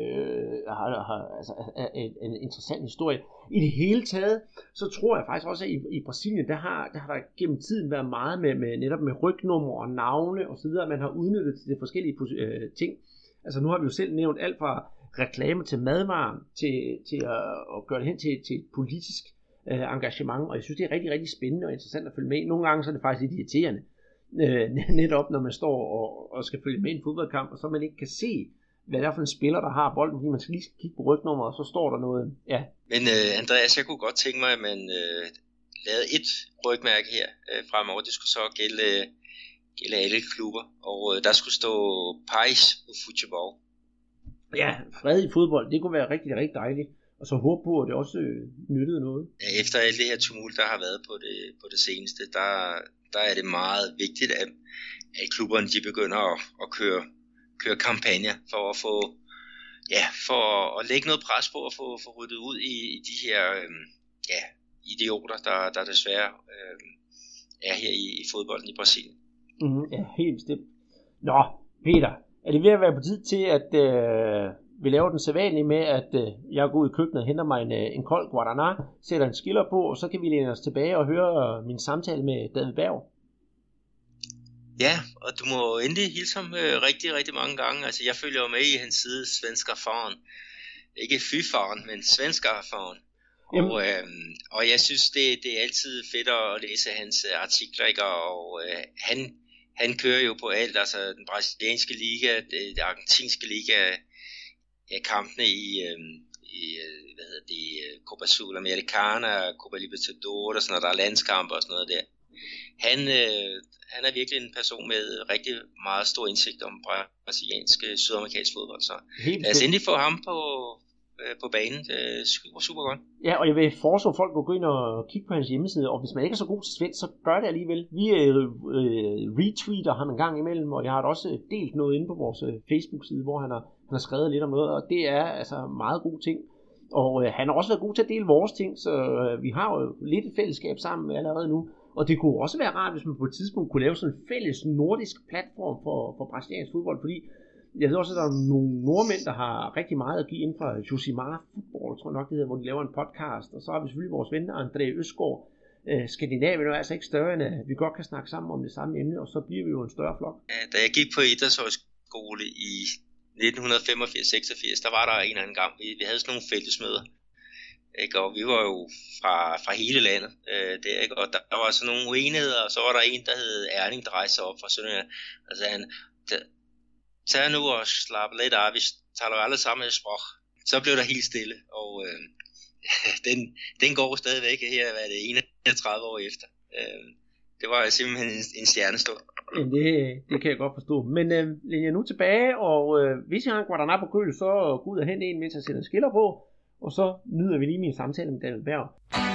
er en interessant historie. I det hele taget, så tror jeg faktisk også, at i Brasilien, der har der gennem tiden været meget med netop med rygnummer og navne og så videre, man har udnyttet til de forskellige ting. Altså nu har vi jo selv nævnt alt fra reklame til madvarer, til at gøre det hen til et politisk engagement, og jeg synes, det er rigtig, rigtig spændende og interessant at følge med. Nogle gange så er det faktisk lidt irriterende, netop når man står og skal følge med i en fodboldkamp, og så man ikke kan se, hvad det er for en spiller, der har bolden, fordi man skal lige kigge på rygnummeret, og så står der noget. Ja. Men Andreas, jeg kunne godt tænke mig, at man lavede et rygmærke her fremover. Det skulle så gælde alle klubber, og der skulle stå Paz på Futebol. Ja, fred i fodbold, det kunne være rigtig, rigtig dejligt. Og så håbe på, at det også nyttede noget. Ja, efter alt det her tumult, der har været på det seneste, der er det meget vigtigt, at klubberne de begynder at køre kampagner for at få, for at lægge noget pres på at få ryddet ud i de her idioter, der desværre er her i fodbolden i Brasilien. Ja, helt bestemt. Nå, Peter, er det ved at være på tid til, at vi laver den sædvanlige med, at jeg går ud i køkkenet og henter mig en kold Guaraná, sætter en skiller på, og så kan vi læne os tilbage og høre min samtale med David Berg? Ja, og du må endelig hilse ham rigtig, rigtig mange gange. Altså, jeg følger jo med i hans side, Svenskarfaren. Ikke fyfaren, men Svenskarfaren. Og jeg synes, det er altid fedt at læse hans artikler, ikke? Og han kører jo på alt, altså den brasilianske liga, det argentinske liga, kampene i Copa Sudamericana, Copa Libertadores, når der er landskampe og sådan noget der. Han er virkelig en person med rigtig meget stor indsigt om brasiliansk, sydamerikansk fodbold, så lad os endelig få ham på banen. Det er super godt. Ja, og jeg vil foreslå folk at gå ind og kigge på hans hjemmeside, og hvis man ikke er så god til svensk, så gør det alligevel. Vi retweeter ham en gang imellem, og jeg har også delt noget inde på vores Facebook-side, hvor han har skrevet lidt om noget, og det er altså meget gode ting. Og han har også været god til at dele vores ting, så vi har jo lidt et fællesskab sammen allerede nu. Og det kunne også være rart, hvis man på et tidspunkt kunne lave sådan en fælles nordisk platform for brasiliansk fodbold, fordi jeg ved også, at der er nogle nordmænd, der har rigtig meget at give inden for Josimar Football, tror jeg nok det hedder, hvor de laver en podcast. Og så har vi selvfølgelig vores ven André Østgaard. Skandinavien er altså ikke større, end at vi godt kan snakke sammen om det samme emne, og så bliver vi jo en større flok. Ja, da jeg gik på idrætshøjskole i 1985-86, der var der en eller anden gang, vi havde sådan nogle fællesmøder. Ikke? Og vi var jo fra hele landet. Det, ikke? Og der var sådan nogle uenigheder, og så var der en, der hed Erling, der rejste op fra Sønderjylland. Og sagde han, tag nu og slap lidt af, vi taler jo alle sammen et sprog. Så blev der helt stille, og den går stadigvæk her, hvad er det, 31 år efter. Det var simpelthen en stjernestund. Det kan jeg godt forstå. Men Linja nu tilbage, og hvis jeg har en Guadana på køl, så gå ud og hente en, mens jeg sætter skiller på. Og så nyder vi lige min samtale med David Berg.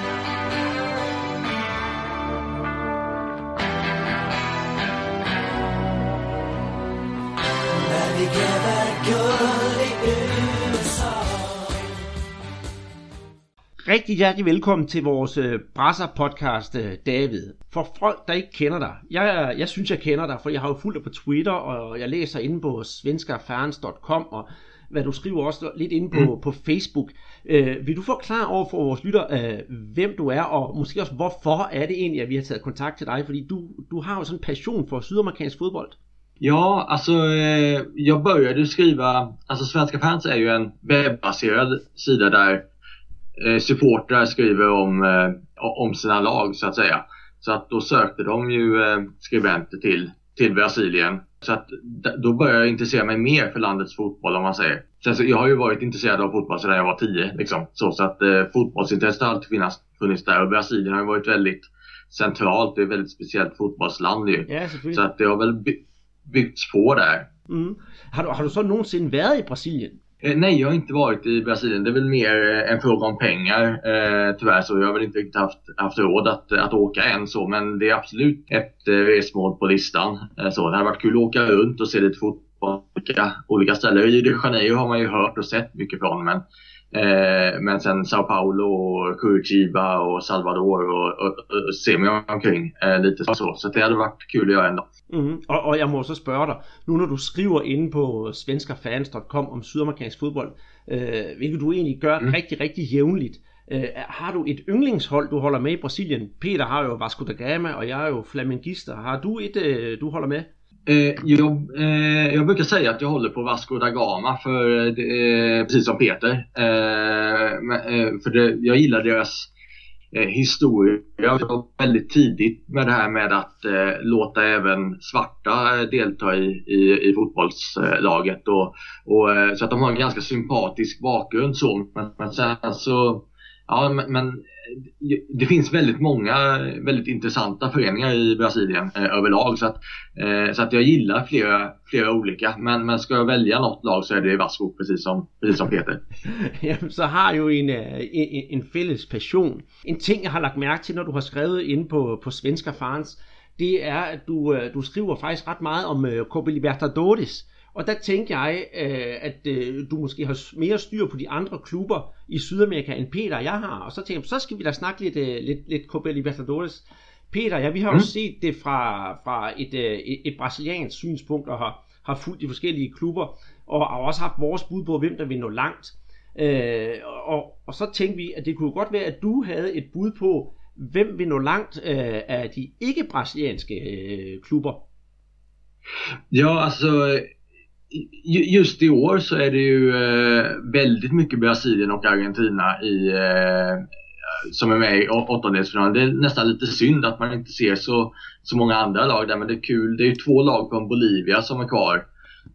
Rigtig hjertelig velkommen til vores Brasser podcast, David. For folk, der ikke kender dig. Jeg synes, jeg kender dig, for jeg har jo fulgt dig på Twitter, og jeg læser inde på svenskarfans.com, og hvad du skriver også lidt inde på Facebook. Vil du forklare over for vores lytter, hvem du er, og måske også hvorfor er det egentlig, at vi har taget kontakt til dig? Fordi du har jo sådan en passion for sydamerikansk fodbold. Ja, alltså jag började skriva, alltså Svenska Fans är ju en webbaserad sida där supportrar skriver om sina lag så att säga. Så att då sökte de ju skribenter till Brasilien. Så att då började jag intressera mig mer för landets fotboll, om man säger. Sen så jag har ju varit intresserad av fotboll sedan jag var 10 liksom. Så att fotbollsintresset har alltid funnits där, och Brasilien har ju varit väldigt centralt. Det är ett väldigt speciellt fotbollsland ju. Ja, så att det har väl byggts på där. Mm. Har du så nogensinde været i Brasilien? Nej, jag har inte varit i Brasilien. Det är väl mer en fråga om pengar. Tyvärr så jag har väl inte riktigt haft råd att åka än så. Men det är absolut ett resmål på listan. Så det har varit kul att åka runt och se lite fotboll på olika ställen. Rio de Janeiro har man ju hört och sett mycket från. Men sen Sao Paulo och Curitiba och Salvador och ser mig omkring lite så. Så det hade varit kul att göra ändå. Mm-hmm. Og jeg må så spørge dig, nu når du skriver inde på svenskarfans.com om sydamerikansk fodbold, hvilket du egentlig gør rigtig, rigtig jævnligt. Har du et yndlingshold, du holder med i Brasilien? Peter har jo Vasco da Gama, og jeg er jo flamenguista. Har du et, du holder med? Jag brukar säga att jag håller på Vasco da Gama, precis som Peter. För jag gillar deras historia. Jag var väldigt tidigt med det här med att låta även svarta delta i fotbollslaget och så att de har en ganska sympatisk bakgrund så, men sen så men det finns väldigt många väldigt intressanta föreningar i Brasilien överlag, så att jag gillar flera olika, men ska jag välja något lag så är det Vasco, precis som Peter. Jamen, så har jo en fælles passion. En ting jeg har lagt mærke til, når du har skrevet inde på Svenska Fans, det er at du skriver faktisk ret meget om Copa Libertadores. Og der tænker jeg, at du måske har mere styr på de andre klubber i Sydamerika, end Peter og jeg har. Og så tænker jeg, så skal vi da snakke lidt Copa Libertadores. Peter, vi har jo set det fra et brasiliansk synspunkt, og har fulgt de forskellige klubber, og har også haft vores bud på, hvem der vil nå langt. Og så tænkte vi, at det kunne godt være, at du havde et bud på, hvem vil nå langt af de ikke-brasilianske klubber. Ja, alltså just i år så är det ju väldigt mycket Brasilien och Argentina som är med i åttondelsfinalen. Det är nästan lite synd att man inte ser så många andra lag där, men det är kul. Det är ju 2 lag från Bolivia som är kvar.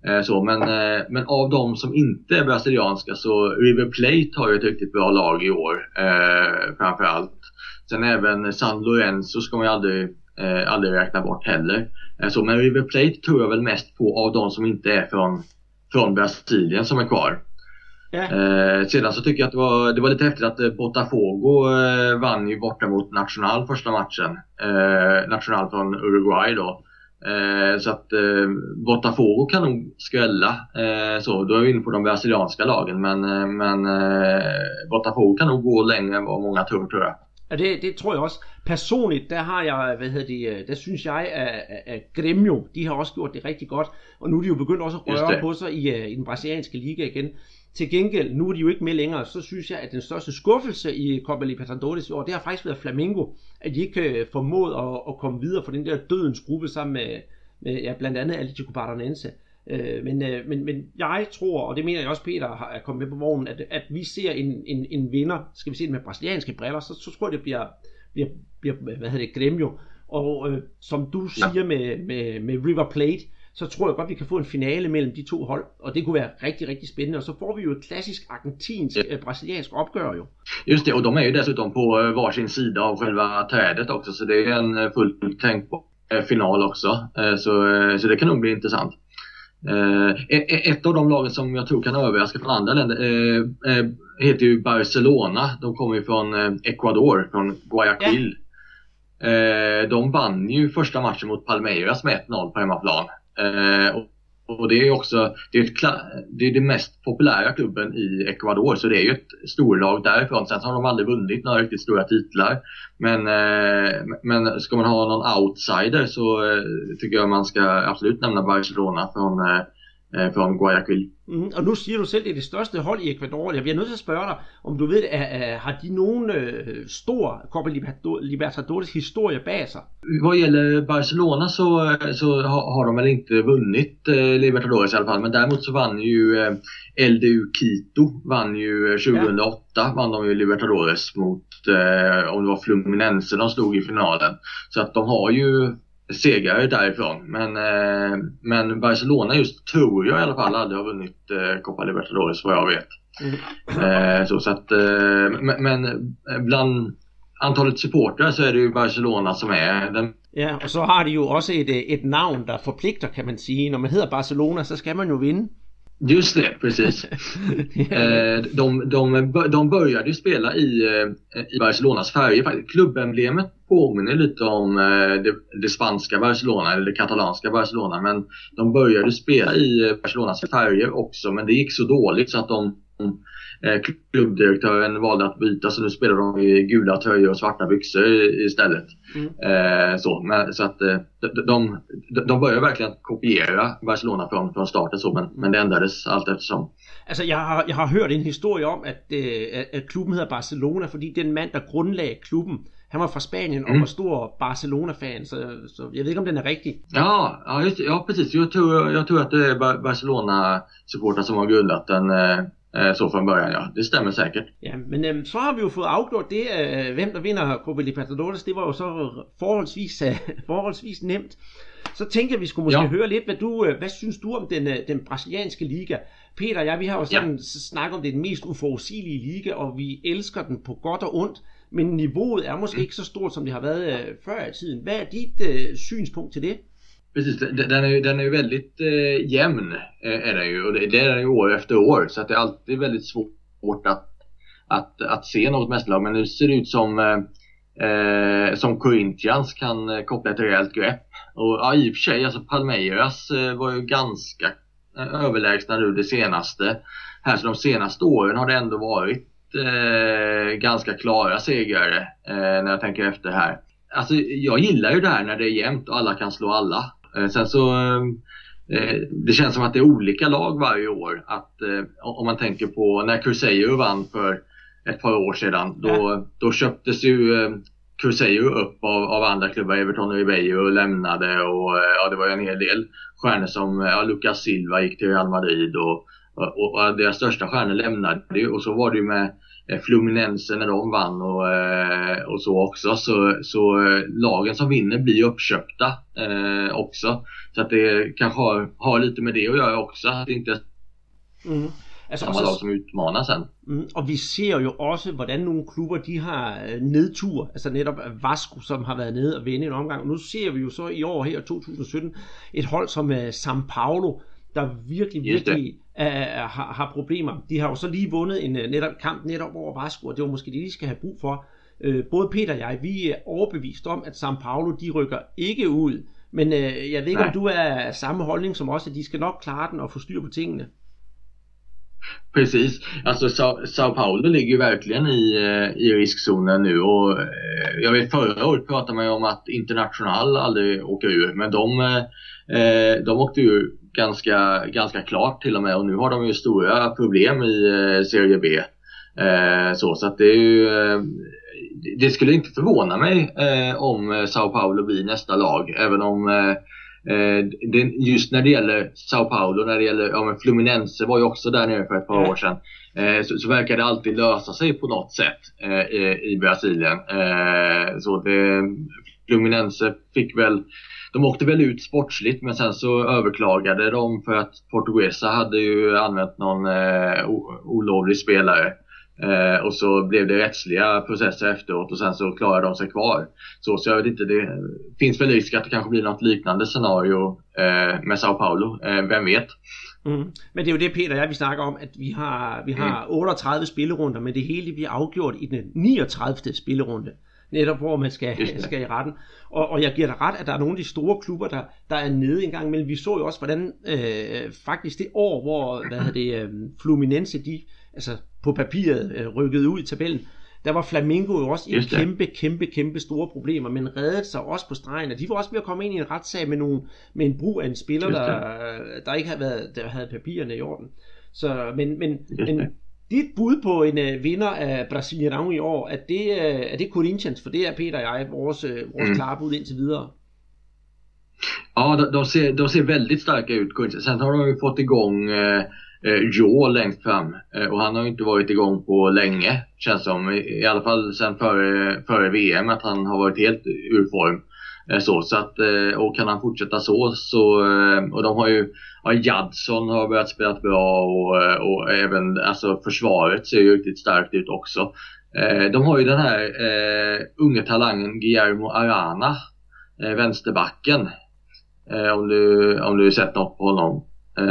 Men av de som inte är brasilianska så River Plate har ju ett riktigt bra lag i år, framförallt. Sen även San Lorenzo ska man ju aldrig räkna bort heller. Men River Plate tror jag väl mest på av de som inte är från Brasilien som är kvar. Sedan så tycker jag att det var lite häftigt att Botafogo vann ju borta mot Nacional första matchen. Nacional från Uruguay då. Så att Botafogo kan nog skrälla. Då är vi inne på de brasilianska lagen. Men Botafogo kan nog gå längre än vad många tror jag. Ja, det tror jeg også. Personligt, der har jeg, der synes jeg, at Grêmio, de har også gjort det rigtig godt. Og nu er de jo begyndt også at røre på sig i den brasilianske liga igen. Til gengæld, nu er de jo ikke med længere, så synes jeg, at den største skuffelse i Copa Libertadores i år, det har faktisk været Flamengo. At de ikke formåede at komme videre for den der dødens gruppe sammen med blandt andet Atlético Paranaense. Men jeg tror, og det mener jeg også Peter er kommet med på vognen, at vi ser en vinder, skal vi se det med brasilianske briller, så tror jeg det bliver Grêmio. Og som du siger med River Plate, så tror jeg godt vi kan få en finale mellem de 2 hold, og det kunne være rigtig, rigtig spændende, og så får vi jo et klassisk argentinsk-brasiliansk opgør jo. Just det, och de är ju dessutom på varsin sida av själva trädet också, så det är en fullt tänkbar final också, så det kan nog bli intressant. Ett av de lagen som jag tror kan överraska från andra länder heter ju Barcelona. De kommer ju från Ecuador, från Guayaquil. De vann ju första matchen mot Palmeiras med 1-0 på hemmaplan. Och det är också det är det mest populära klubben i Ecuador, så det är ju ett storlag därifrån. Sen så har de aldrig vunnit några riktigt stora titlar. Men ska man ha någon outsider så tycker jag man ska absolut nämna Barcelona från Guayaquil. Og nu siger du selv, det er det største hold i Ecuador. Jeg bliver nødt til at spørge dig, om du ved, har de nogen stor Copa Libertadores historie bag sig? Vad gäller Barcelona så har de väl inte vunnit Libertadores i alla fall. Men däremot så vann ju LDU Quito, vann ju 2008, vann de ju Libertadores mot, om det var Fluminense de stod i finalen. Så att de har ju segare därifrån, men Barcelona just tror jag i alla fall aldrig har vunnit Copa Libertadores vad jag vet. Så att men bland antalet supportrar så är det ju Barcelona som är den. Ja, og så har de jo også et navn der forpligter, kan man sige. Når man hedder Barcelona, så skal man jo vinde. Just det, precis. De började ju spela i Barcelonas färger faktiskt. Klubbemblemet påminner lite om det spanska Barcelona eller det katalanska Barcelona, men de började spela i Barcelonas färger också, men det gick så dåligt så att klubbdirektören valde att byta, så nu spelar de i gula tröjor och svarta byxor istället. Så att de börjar verkligen kopiera Barcelona från starten så, men det ändrades allt eftersom. Altså jeg har hørt en historie om at klubben hedder Barcelona, fordi den mand der grundlagde klubben, han var fra Spanien og var stor Barcelona-fan, så jeg ved ikke om den er rigtig. Ja, just det. Ja, precis. Jag tror att det är Barcelona-supportrar som har grundat den så från början, ja. Det stämmer säkert. Ja, men så har vi jo fået afgjort det, hvem der vinder Copa Libertadores. Det var jo så forholdsvis nemt. Så tænker jeg, vi skulle måske høre lidt, hvad synes du om den brasilianske liga? Peter og jeg, vi har jo sådan snakket om det den mest uforudsigelige liga, og vi elsker den på godt og ondt, men niveauet er måske ikke så stort, som det har været før i tiden. Hvad er dit synspunkt til det? Precis, den är ju väldigt jämn är den ju, och det är den ju år efter år, så att det är alltid väldigt svårt att se något mästerlag, men nu ser det ut som Corinthians kan koppla ett rejält grepp. Och ja, i och för sig, alltså Palmeiras var ju ganska överlägsna nu det senaste här, så de senaste åren har det ändå varit ganska klara segrare när jag tänker efter här. Alltså jag gillar ju det här när det är jämnt och alla kan slå alla. Sen så det känns som att det är olika lag varje år. Att om man tänker på när Cruzeiro vann för ett par år sedan, då köptes ju Cruzeiro upp av andra klubbar. Everton och Ribeiro lämnade och det var en hel del stjärnor som Lucas Silva gick till Real Madrid och deras största stjärnor lämnade, och så var det ju med Fluminense när de vann och så också, så lagen som vinner blir uppköpta också, så att det kanske har lite med det att göra också, att det inte är samma lag som utmanar sen. Og vi ser jo også, hvordan nogle klubber de har nedtur, altså netop Vasco, som har været nede og vinde en omgang. Og nu ser vi jo så i år her 2017 et hold som São Paulo, der virkelig har problemer. De har jo så lige vundet en kamp netop over Vasco, og det var måske det, de skal have brug for. Både Peter og jeg, vi er overbevist om, at São Paulo, de rykker ikke ud. Men jeg ved ikke, om du er samme holdning som os, at de skal nok klare den og få styr på tingene. Precis, alltså São Paulo ligger ju verkligen i riskzonen nu, och jag vet förra året pratade man ju om att International aldrig åker ur, men de åkte ju ganska klart till och med, och nu har de ju stora problem i Serie B, så att det är ju, det skulle inte förvåna mig om São Paulo blir nästa lag, även om just när det gäller São Paulo, när det gäller Fluminense var ju också där nere för ett par år sedan, så verkar det alltid lösa sig på något sätt i Brasilien, så Fluminense de åkte väl ut sportsligt, men sen så överklagade de för att Portuguesa hade ju använt någon olovlig spelare. Och så blev det rättsliga processer efteråt, och sen så klarade de sig kvar. Så jag vet inte, det finns väl risk att det kanske blir något liknande scenario med São Paulo, vem vet. Men det er jo det, Peter og jeg, vi snakker om, at vi har 38 spillerunder, men det hele bliver afgjort i den 39. spillerunde, netop hvor man skal i retten. Og jeg giver dig ret, at der er nogle af de store klubber, der er nede en gang imellem. Vi så jo også, hvordan faktisk det år, hvor Fluminense, de altså på papiret rykkede ud i tabellen, der var Flamengo jo også i kæmpe store problemer, men reddede sig også på stregen, og de var også ved at komme ind i en retssag med en brug af en spiller, der ikke havde papirerne i orden. Så, men dit bud på en vinder af Brasileirão i år, er det Corinthians? For det er Peter og jeg vores klare bud indtil videre. Ja, de ser väldigt starka ut, Corinthians. Sen har de ju fått igång Jå längst fram, och han har ju inte varit igång på länge, känns som, i alla fall sen före VM, att han har varit helt ur form, så att, och kan han fortsätta så och de har ju Jadson har börjat spela bra, och även alltså försvaret ser ju riktigt starkt ut också. De har ju den här unga talangen Guillermo Arana, vänsterbacken, om du sett något på honom.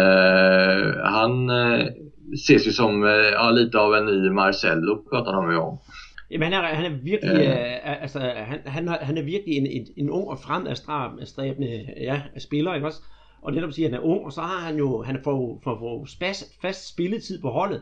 Han ses ju som lite av en ny Marcelo, pratar de ju om. Jamen han er virkelig han er virkelig en ung og fremadstræbende spiller, ikke også? Og netop siger, at han er ung, og så har han får fast spilletid på holdet.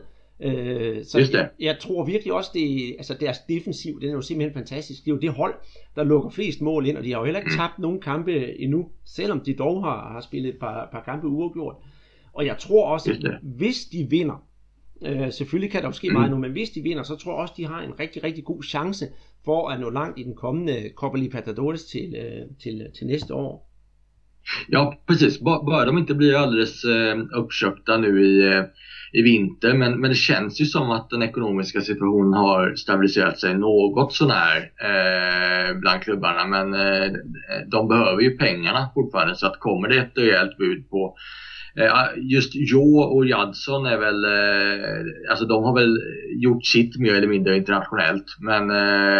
Så jeg tror virkelig også, deres defensiv, den er jo simpelthen fantastisk. Det er jo det hold, der lukker flest mål ind, og de har jo heller ikke tabt nogen kampe endnu, selvom de dog har spillet et par kampe uafgjort. Og jeg tror også, at hvis de vinder, selvfølgelig kan der jo ske meget nu, men hvis de vinder, så tror jeg også, de har en rigtig, rigtig god chance for at nå langt i den kommende Copa Libertadores til næste år. Ja, precis. Bara de inte blir alldeles uppköpta nu i vinter, men det känns ju som att den ekonomiska situationen har stabiliserat sig något sånär bland klubbarna, men de behöver ju pengarna fortfarande, så att kommer det ett rejält bud på just Jå och Jadson är väl alltså de har väl gjort sitt mer eller mindre internationellt, men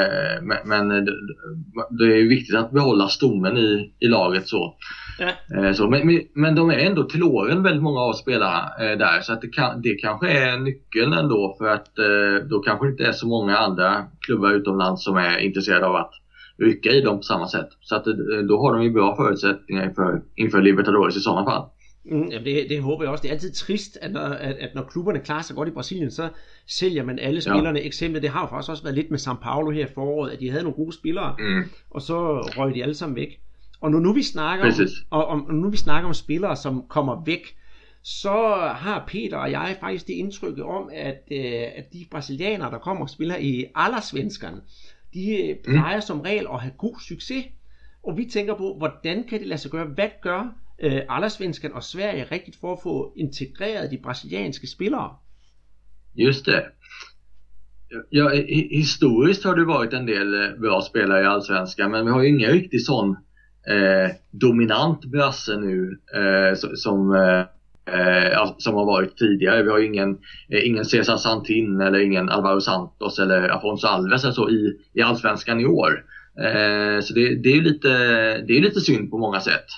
det är viktigt att behålla stommen i laget så. Så men de är ändå till åren väldigt många av spelarna där, så att det kanske är nyckeln ändå, för att då kanske det inte är så många andra klubbar utomlands som är intresserade av att rycka i dem på samma sätt, så att då har de ju bra förutsättningar inför Libertadores i sådana fall. Det håber jeg også. Det er altid trist, at når klubberne klarer sig godt i Brasilien, så sælger man alle spillerne. Eksemplet, det har jo faktisk også været lidt med São Paulo her i foråret, at de havde nogle gode spillere, og så røg de alle sammen væk. Og når nu vi snakker om spillere, som kommer væk, så har Peter og jeg faktisk det indtryk om, at de brasilianere, der kommer og spiller i Allsvenskan, de plejer som regel at have god succes. Og vi tænker på, hvordan kan det lade sig gøre? Hvad gør Allsvenskan og Sverige rigtigt for at få integreret de brasilianske spillere? Just det. Ja, historiskt har det varit en del bra spelare i Allsvenskan, men vi har ju ingen riktigt sån dominant brasse nu som har varit tidigare. Vi har ingen Cesar Santin eller ingen Alvaro Santos eller Afonso Alves alltså i Allsvenskan i år. Så det är lite synd på många sätt.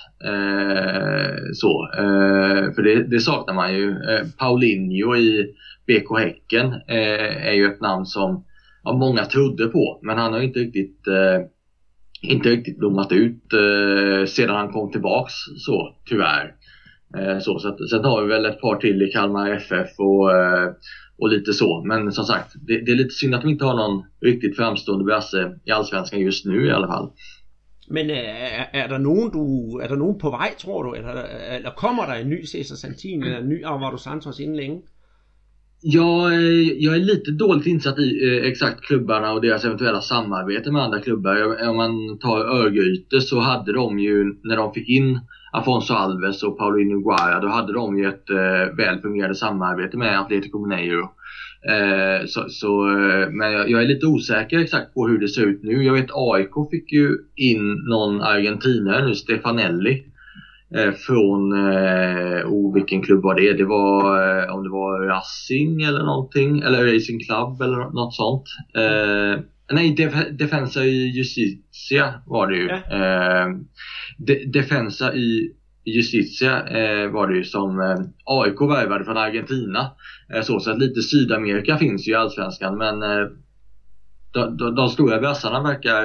För det saknar man ju. Paulinho i BK Häcken är ju ett namn som många trodde på, men han har inte riktigt blommat ut sedan han kom tillbaks, så tyvärr. Sen har vi väl ett par till i Kalmar FF och lite så, men som sagt det är lite synd att vi inte har någon riktigt framstående brasse i Allsvenskan just nu i alla fall. Men er der nogen på vej, tror du, eller kommer der en ny Cesar Santin eller en ny Alvaro Santos inden længe? Jag är lite dåligt insatt i exakt klubbarna och deras eventuella samarbete med andra klubbar. Om man tar Örgryte så hade de ju, när de fick in Afonso Alves och Paulinho Guara, då hade de ju ett väl fungerande samarbete med Atlético Mineiro. Men jag är lite osäker exakt på hur det ser ut nu. Jag vet AIK fick ju in någon argentinare nu, Stefanelli. Från vilken klubb var det? Det var om det var Racing eller någonting, eller Racing Club eller något sånt. Nej, Defensa i Justicia var det ju. Defensa i Justicia var det ju som AIK värvade från Argentina. Så att lite Sydamerika finns ju i Allsvenskan, men de stora brassarna verkar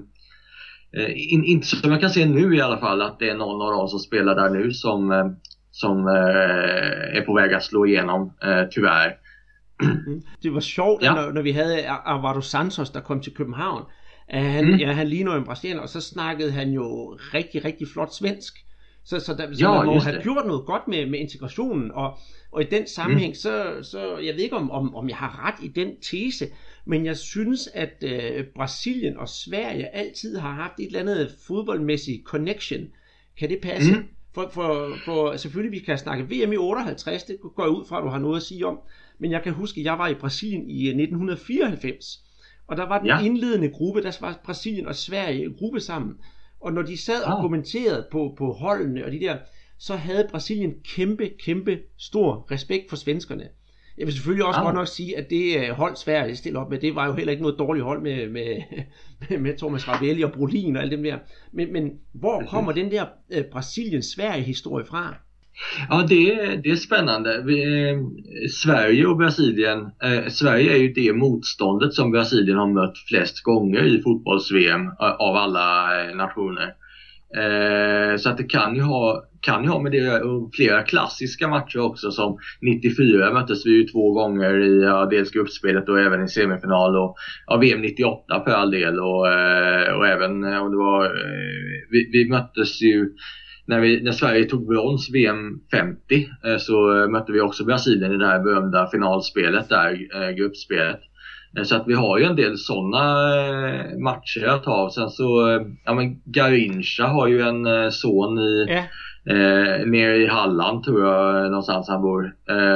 inte som jag kan se nu i alla fall att det är någon av dem som spelar där nu som är på väg att slå igenom, tyvärr. Det var sjovt, når vi havde Alvaro Santos, der kom til København. Han ligner en brasilianer, og så snakkede han jo rigtig, rigtig flot svensk. Så man må have gjort noget godt med integrationen, og i den sammenhæng, så jeg ved ikke, om jeg har ret i den tese, men jeg synes, at Brasilien og Sverige altid har haft et eller andet fodboldmæssigt connection. Kan det passe? For selvfølgelig, vi kan snakke VM i 58, det går jeg ud fra, at du har noget at sige om. Men jeg kan huske, at jeg var i Brasilien i 1994, og der var den indledende gruppe, der var Brasilien og Sverige i gruppe sammen. Og når de sad og kommenterede på holdene og de der, så havde Brasilien kæmpe stor respekt for svenskerne. Jeg vil selvfølgelig også godt nok sige, at det hold Sverige stille op med, det var jo heller ikke noget dårligt hold med Thomas Ravelli og Brolin og alt dem der. Men hvor kommer den der Brasilien-Sverige-historie fra? Ja, det är spännande. Sverige och Brasilien, Sverige är ju det motståndet som Brasilien har mött flest gånger i fotbolls-VM av alla nationer. Så att det kan ju ha med det, och flera klassiska matcher också, som 94 möttes vi ju 2 gånger i dels gruppspelet och även i semifinal, och VM 98 för all del, och även om det var vi möttes ju när Sverige tog brons VM 50, så mötte vi också Brasilien i det här berömda finalspelet där, gruppspelet. Så att vi har ju en del sådana matcher att ta av. Sen så, Garrincha har ju en son nere i Halland, tror jag, någonstans han bor.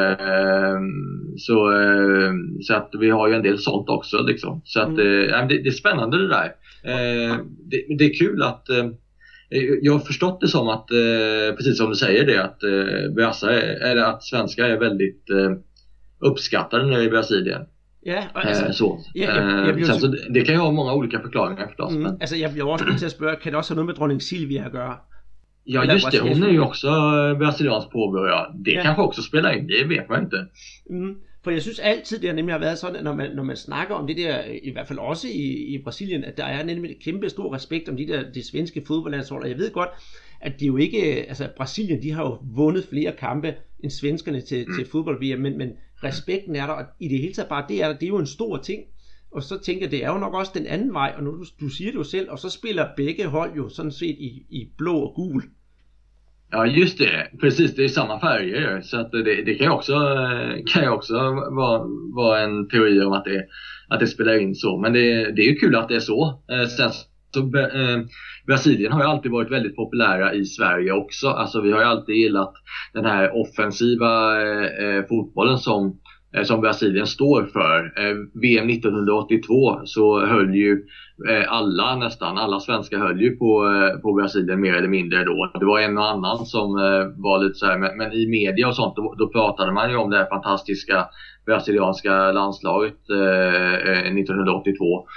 Så att vi har ju en del sånt också liksom. Så att det är spännande det där. Det är kul att jag har förstått det som att, precis som du säger det, att brassar eller att svenskar är väldigt uppskattade nere i Brasilien. Ja, altså, så det kan ju ha många olika förklaringar förstås. Men. Altså jeg bliver også nødt til at spørge, kan det også have noget med dronning Silvia att göra? Ja, just det, hon är ju också brasiliansk påbörjare. Det kanske också spelar in, det vet man inte. For jeg synes altid, det har nemlig været sådan, at når man snakker om det der, i hvert fald også i Brasilien, at der er nemlig kæmpe stor respekt om det svenske fodboldlandshold. Og jeg ved godt, at de jo ikke, altså Brasilien, de har jo vundet flere kampe end svenskerne til fodbold-VM, men respekten er der, og i det hele taget bare, det er jo en stor ting. Og så tænker jeg, det er jo nok også den anden vej, og nu du siger det jo selv, og så spiller begge hold jo sådan set i blå och gul. Ja, just det. Precis, det är samma färger. Så att det kan ju också vara en teori om att det spelar in så. Men det är ju kul att det är så. Sen så Brasilien har ju alltid varit väldigt populära i Sverige också. Alltså vi har ju alltid gillat den här offensiva fotbollen som Brasilien står för. VM 1982 så höll ju nästan alla svenskar höll ju på Brasilien mer eller mindre då. Det var en och annan som var lite så här, men i media och sånt då pratade man ju om det här fantastiska brasilianska landslaget 1982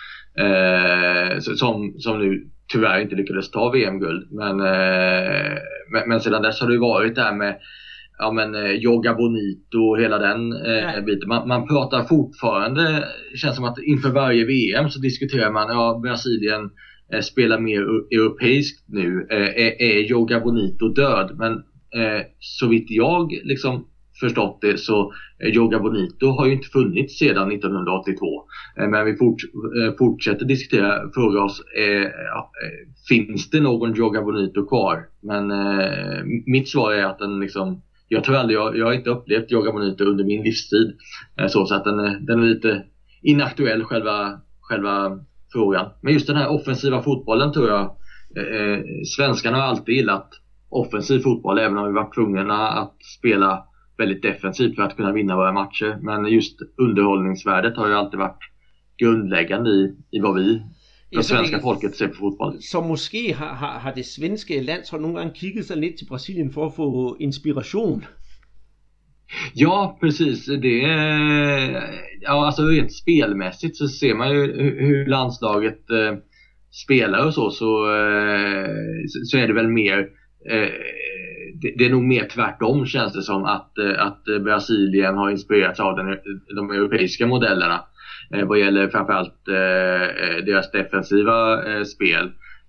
som nu tyvärr inte lyckades ta VM-guld. Men sedan dess har det ju varit det här med Joga Bonito och hela den biten. Man pratar fortfarande, det känns som att inför varje VM så diskuterar man Brasilien spelar mer europeiskt nu. Är Joga Bonito död? Men så vitt jag liksom förstått det så Joga Bonito har ju inte funnits sedan 1982. Men vi fortsätter diskutera, fråga oss finns det någon Joga Bonito kvar? Men mitt svar är att den liksom, jag har inte upplevt Joga Bonito under min livstid. Så att den är lite inaktuell själva frågan. Men just den här offensiva fotbollen tror jag svenskarna har alltid gillat offensiv fotboll, även om vi var tvungna att spela väldigt defensivt för att kunna vinna våra matcher. Men just underhållningsvärdet har ju alltid varit grundläggande i vad vi, det svenska folket, ser på fotboll. Så måske har det svenske landshold nogle gange kigget sig lidt til Brasilien for at få inspiration? Ja, precis. Alltså rent spelmässigt så ser man ju hur landslaget spelar och så är det väl mer det är nog mer tvärtom, känns det som, att Brasilien har inspirerats av de europeiska modellerna vad gäller framförallt deras defensiva spel.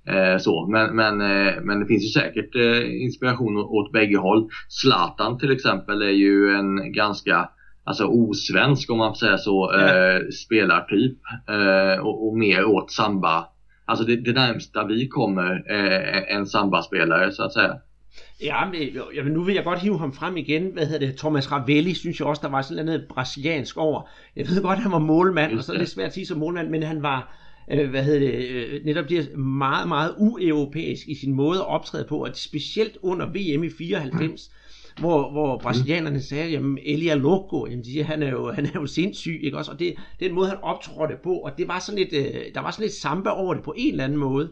Men det finns ju säkert inspiration åt bägge håll. Zlatan till exempel är ju en ganska osvensk, om man får säga så, spelartyp och mer åt samba. Alltså det närmsta vi kommer en samba-spelare, så att säga. Ja, men nu vil jeg godt hive ham frem igen. Thomas Ravelli, synes jeg også, der var sådan noget brasiliansk over. Jeg ved godt, han var målmand, og så er det svært at sige som målmand, men han var, netop det meget, meget ueuropæisk i sin måde at optræde på, og specielt under VM i 94, hvor brasilianerne sagde, jamen Eli er loco, jamen de siger, han er jo sindssyg, ikke også? Og det er en måde, han optrådte på, og det var sådan der var sådan lidt samba over det på en eller anden måde.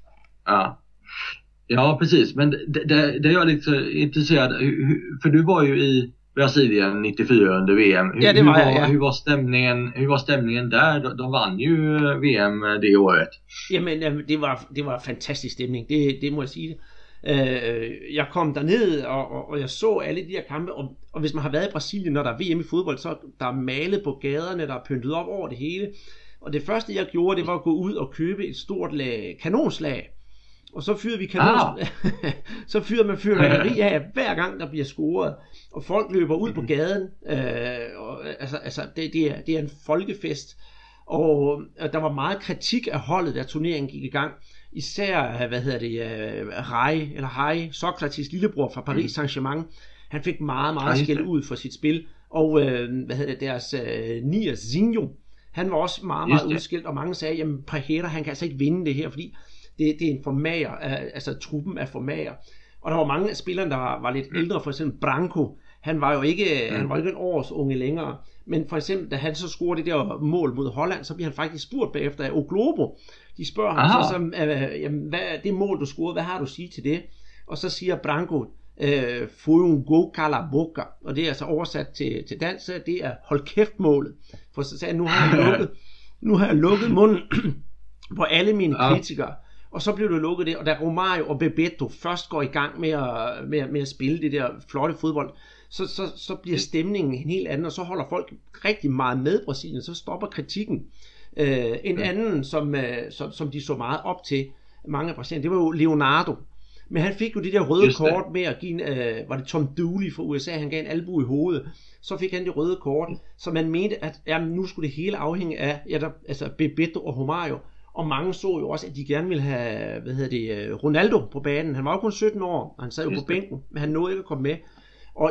Ja, precis. Men det jag är lite intresserad, för du var ju i Brasilien 94 under VM. Det var jag, ja. Hur var stämningen där? De vann ju VM det året. Jamen, det var fantastisk stemning, det må jeg sige. Jeg kom derned, og jeg så alle de her kampe, og hvis man har været i Brasilien, når der er VM i fodbold, så der er malet på gaderne, der er pyntet op over det hele. Og det første jeg gjorde, det var at gå ud og købe et stort kanonslag. Og så fyrede vi så fyrede man fyrværkeri af hver gang der bliver scoret, og folk løber ud på gaden. Det er en folkefest, og der var meget kritik af holdet, da turneringen gik i gang. Især Rai, Sokratis lillebror fra Paris Saint-Germain. Han fik meget skæld ud for sit spil, og deres Nier Zinho, han var også meget udskilt, og mange sagde, jamen Prehera, han kan altså ikke vinde det her, fordi det er en formager, altså truppen er formager. Og der var mange af spillerne, der var lidt ældre, for eksempel Branco, han var jo ikke en års unge længere, men for eksempel, da han så scorede det der mål mod Holland, så bliver han faktisk spurgt bagefter af O Globo. De spørger ham jamen, hvad er det mål, du scorede, hvad har du at sige til det? Og så siger Branco, foi un gol cala boca, og det er altså oversat til dansk, det er hold kæft målet. For så sagde han, nu har jeg lukket munden på alle mine kritikere. Og så blev det lukket det, og da Romario og Bebeto først går i gang med at spille det der flotte fodbold, så bliver stemningen en helt anden, og så holder folk rigtig meget med Brasilien, så stopper kritikken. En anden, som de så meget op til, mange af Brasilien, det var jo Leonardo. Men han fik jo det der røde kort med at give var det Tom Dooley fra USA, han gav en albue i hovedet. Så fik han det røde kort, så man mente, at nu skulle det hele afhænge af Bebeto og Romario. Og mange så jo også, at de gerne ville have, Ronaldo på banen. Han var jo kun 17 år, og han sad jo på bænken, men han nåede ikke at komme med. Og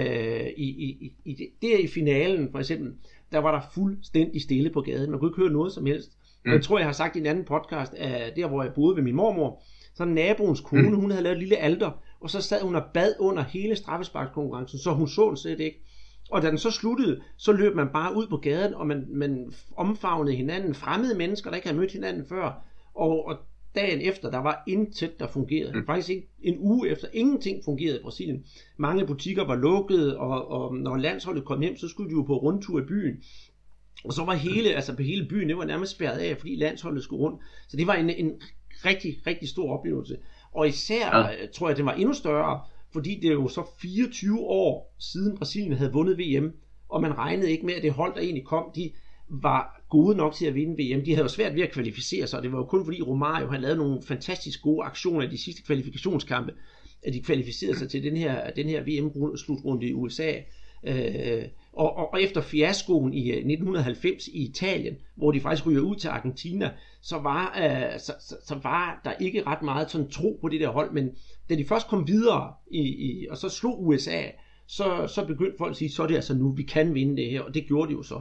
i finalen for eksempel, der var der fuldstændig stille på gaden. Man kunne ikke høre noget som helst. Jeg tror, jeg har sagt i en anden podcast, der hvor jeg boede ved min mormor, så naboens kone, hun havde lavet et lille alter, og så sad hun og bad under hele straffesparkskonkurrencen, så hun så den slet ikke. Og da den så sluttede, så løb man bare ud på gaden, og man omfavnede hinanden, fremmede mennesker, der ikke havde mødt hinanden før, og dagen efter, der var intet, der fungerede. Faktisk ikke en uge efter, ingenting fungerede i Brasilien. Mange butikker var lukkede, og når landsholdet kom hjem, så skulle de jo på rundtur i byen. Og så var hele byen, det var nærmest spærret af, fordi landsholdet skulle rundt. Så det var en rigtig, rigtig stor oplevelse. Og især, tror jeg, det var endnu større, fordi det er jo så 24 år siden Brasilien havde vundet VM, og man regnede ikke med, at det hold, der egentlig kom, de var gode nok til at vinde VM. De havde jo svært ved at kvalificere sig, og det var jo kun fordi Romario havde lavet nogle fantastisk gode aktioner i de sidste kvalifikationskampe, at de kvalificerede sig til den her VM-slutrunde i USA. Og efter fiaskoen i 1990 i Italien, hvor de faktisk ryger ud til Argentina, så var der ikke ret meget sådan tro på det der hold, men da de først kom videre og så slog USA, så begyndte folk at sige, så er det altså nu, vi kan vinde det her, og det gjorde de jo så.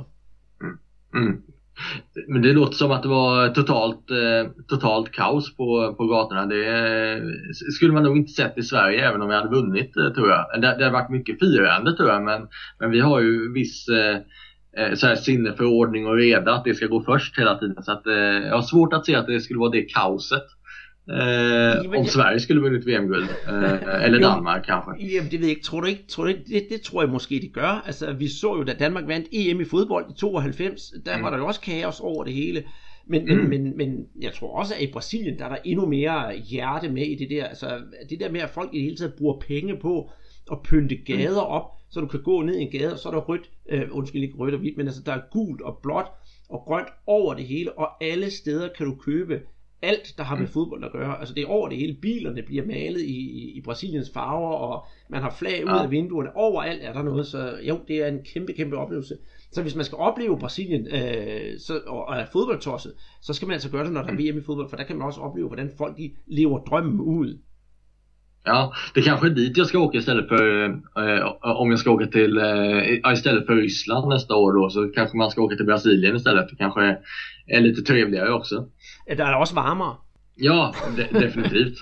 Men det låter som att det var totalt kaos på gatorna. Det skulle man nog inte sett i Sverige även om vi hade vunnit, tror jag. Det hade varit mycket firande, tror jag, men vi har ju viss så här sinne för ordning och reda, att det ska gå först hela tiden, så att jag har svårt att se att det skulle vara det kaoset. Om Sverige skulle vunnit VM-guld eller Danmark kanske. Jamen det ved jeg ikke. Tror du ikke? Det tror jeg måske de gør. Altså vi så jo da Danmark vandt EM i fodbold i 92, der var der jo også kaos over det hele. Men jeg tror også at i Brasilien der er der endnu mere hjerte med i det der. Altså det der med at folk i det hele taget bruger penge på at pynte gader op, så du kan gå ned i en gade, og så er der rødt, ikke rødt og hvidt, men altså der er gult og blåt og grønt over det hele, og alle steder kan du købe alt, der har med fodbold at gøre. Altså det er over det hele. Bilerne bliver malet i Brasiliens farver, og man har flag ud af vinduerne. Overalt er der noget, så jo, det er en kæmpe, kæmpe oplevelse. Så hvis man skal opleve Brasilien og er fodboldtosset, så skal man altså gøre det, når der er VM i fodbold, for der kan man også opleve, hvordan folk de lever drømmen ud. Ja, det kanske är dit jag ska åka istället för om jag ska åka till istället för Ryssland nästa år då, så kanske man ska åka till Brasilien istället. Det kanske är lite trevligare också. Det är också varmare. Ja, definitivt.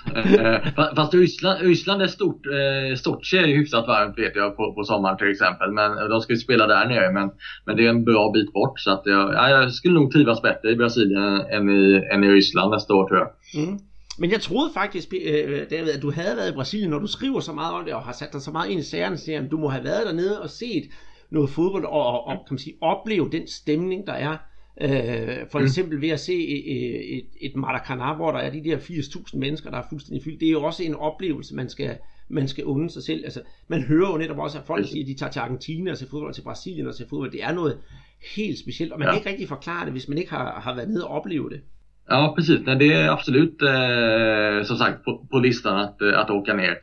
Fast Ryssland är stort är hyfsat varmt, vet jag, på sommaren till exempel, men de ska ju spela där nere, men det är en bra bit bort, så att jag skulle nog trivas bättre i Brasilien än i Ryssland nästa år, tror jag. Men jeg troede faktisk, David, at du havde været i Brasilien, når du skriver så meget om det, og har sat dig så meget ind i sagerne, at du må have været dernede og set noget fodbold, og kan man sige, opleve den stemning, der er. For eksempel ved at se et Maracanã, hvor der er de der 80.000 mennesker, der er fuldstændig fyldt. Det er jo også en oplevelse, man skal unde sig selv. Altså, man hører jo netop også, at folk siger, at de tager til Argentina og ser fodbold, til Brasilien og ser fodbold. Det er noget helt specielt, og man kan ikke rigtig forklare det, hvis man ikke har været nede og opleve det. Ja, precis. Nej, det är absolut som sagt på listan att åka ner.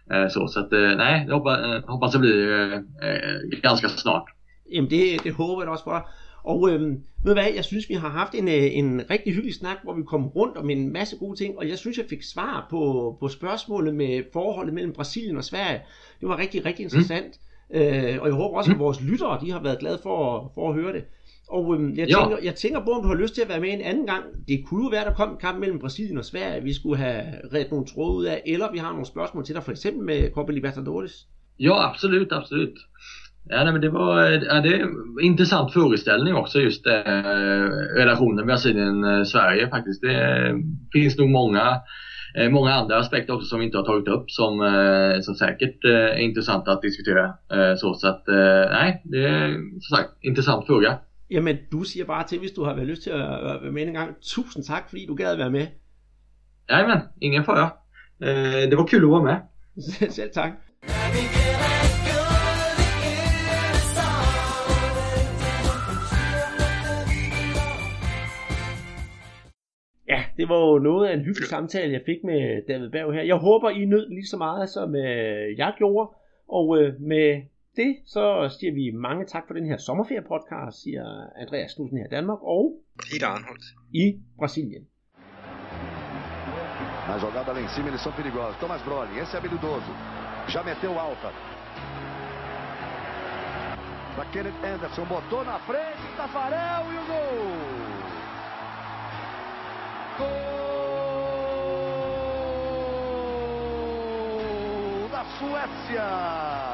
Så att nej, jag hoppas det blir ganska snart. Jamen det håber jeg også for. Og ved du hvad, jeg synes vi har haft en rigtig hyggelig snak, hvor vi kom rundt om en masse gode ting, og jeg synes jeg fik svar på spørgsmålet med forholdet mellem Brasilien og Sverige. Det var rigtig, rigtig interessant. Og jeg håber også at vores lyttere, de har været glade for at høre det. Og jeg tænker på, om du har lyst til at være med en anden gang. Det kunne jo være, der kom en kamp mellem Brasilien og Sverige, vi skulle have reddet nogle tråde ud af, eller vi har nogle spørgsmål til dig, for eksempel med Copa Libertadores. Ja, absolut. Ja, nej, men det är en intressant frågeställning också, just relationen Brasilien-Sverige faktiskt. Det finns nog många andra aspekter också som vi inte har tagit upp som säkert är intressanta att diskutera. Så att nej, det är som sagt intressant fråga. Jamen, du siger bare til, hvis du har været lyst til at være med en gang. Tusind tak, fordi du gad at være med. Jamen, ingen fara. Det var kul at være med. Selv tak. Ja, det var jo noget af en hyggelig samtale, jeg fik med David Berg her. Jeg håber, I nød lige så meget, som jeg gjorde. Og med det, så siger vi mange tak for den her sommerferie-podcast, siger Andreas Knudsen her i Danmark og Peter Arnholdt i Brasilien. Na jogada lá em cima eles são perigosos. Thomas Brolin, esse é habilidoso. Já meteu alta. Para Kenneth Anderson, botou na frente, Tafarel e o gol! Gol da Suécia!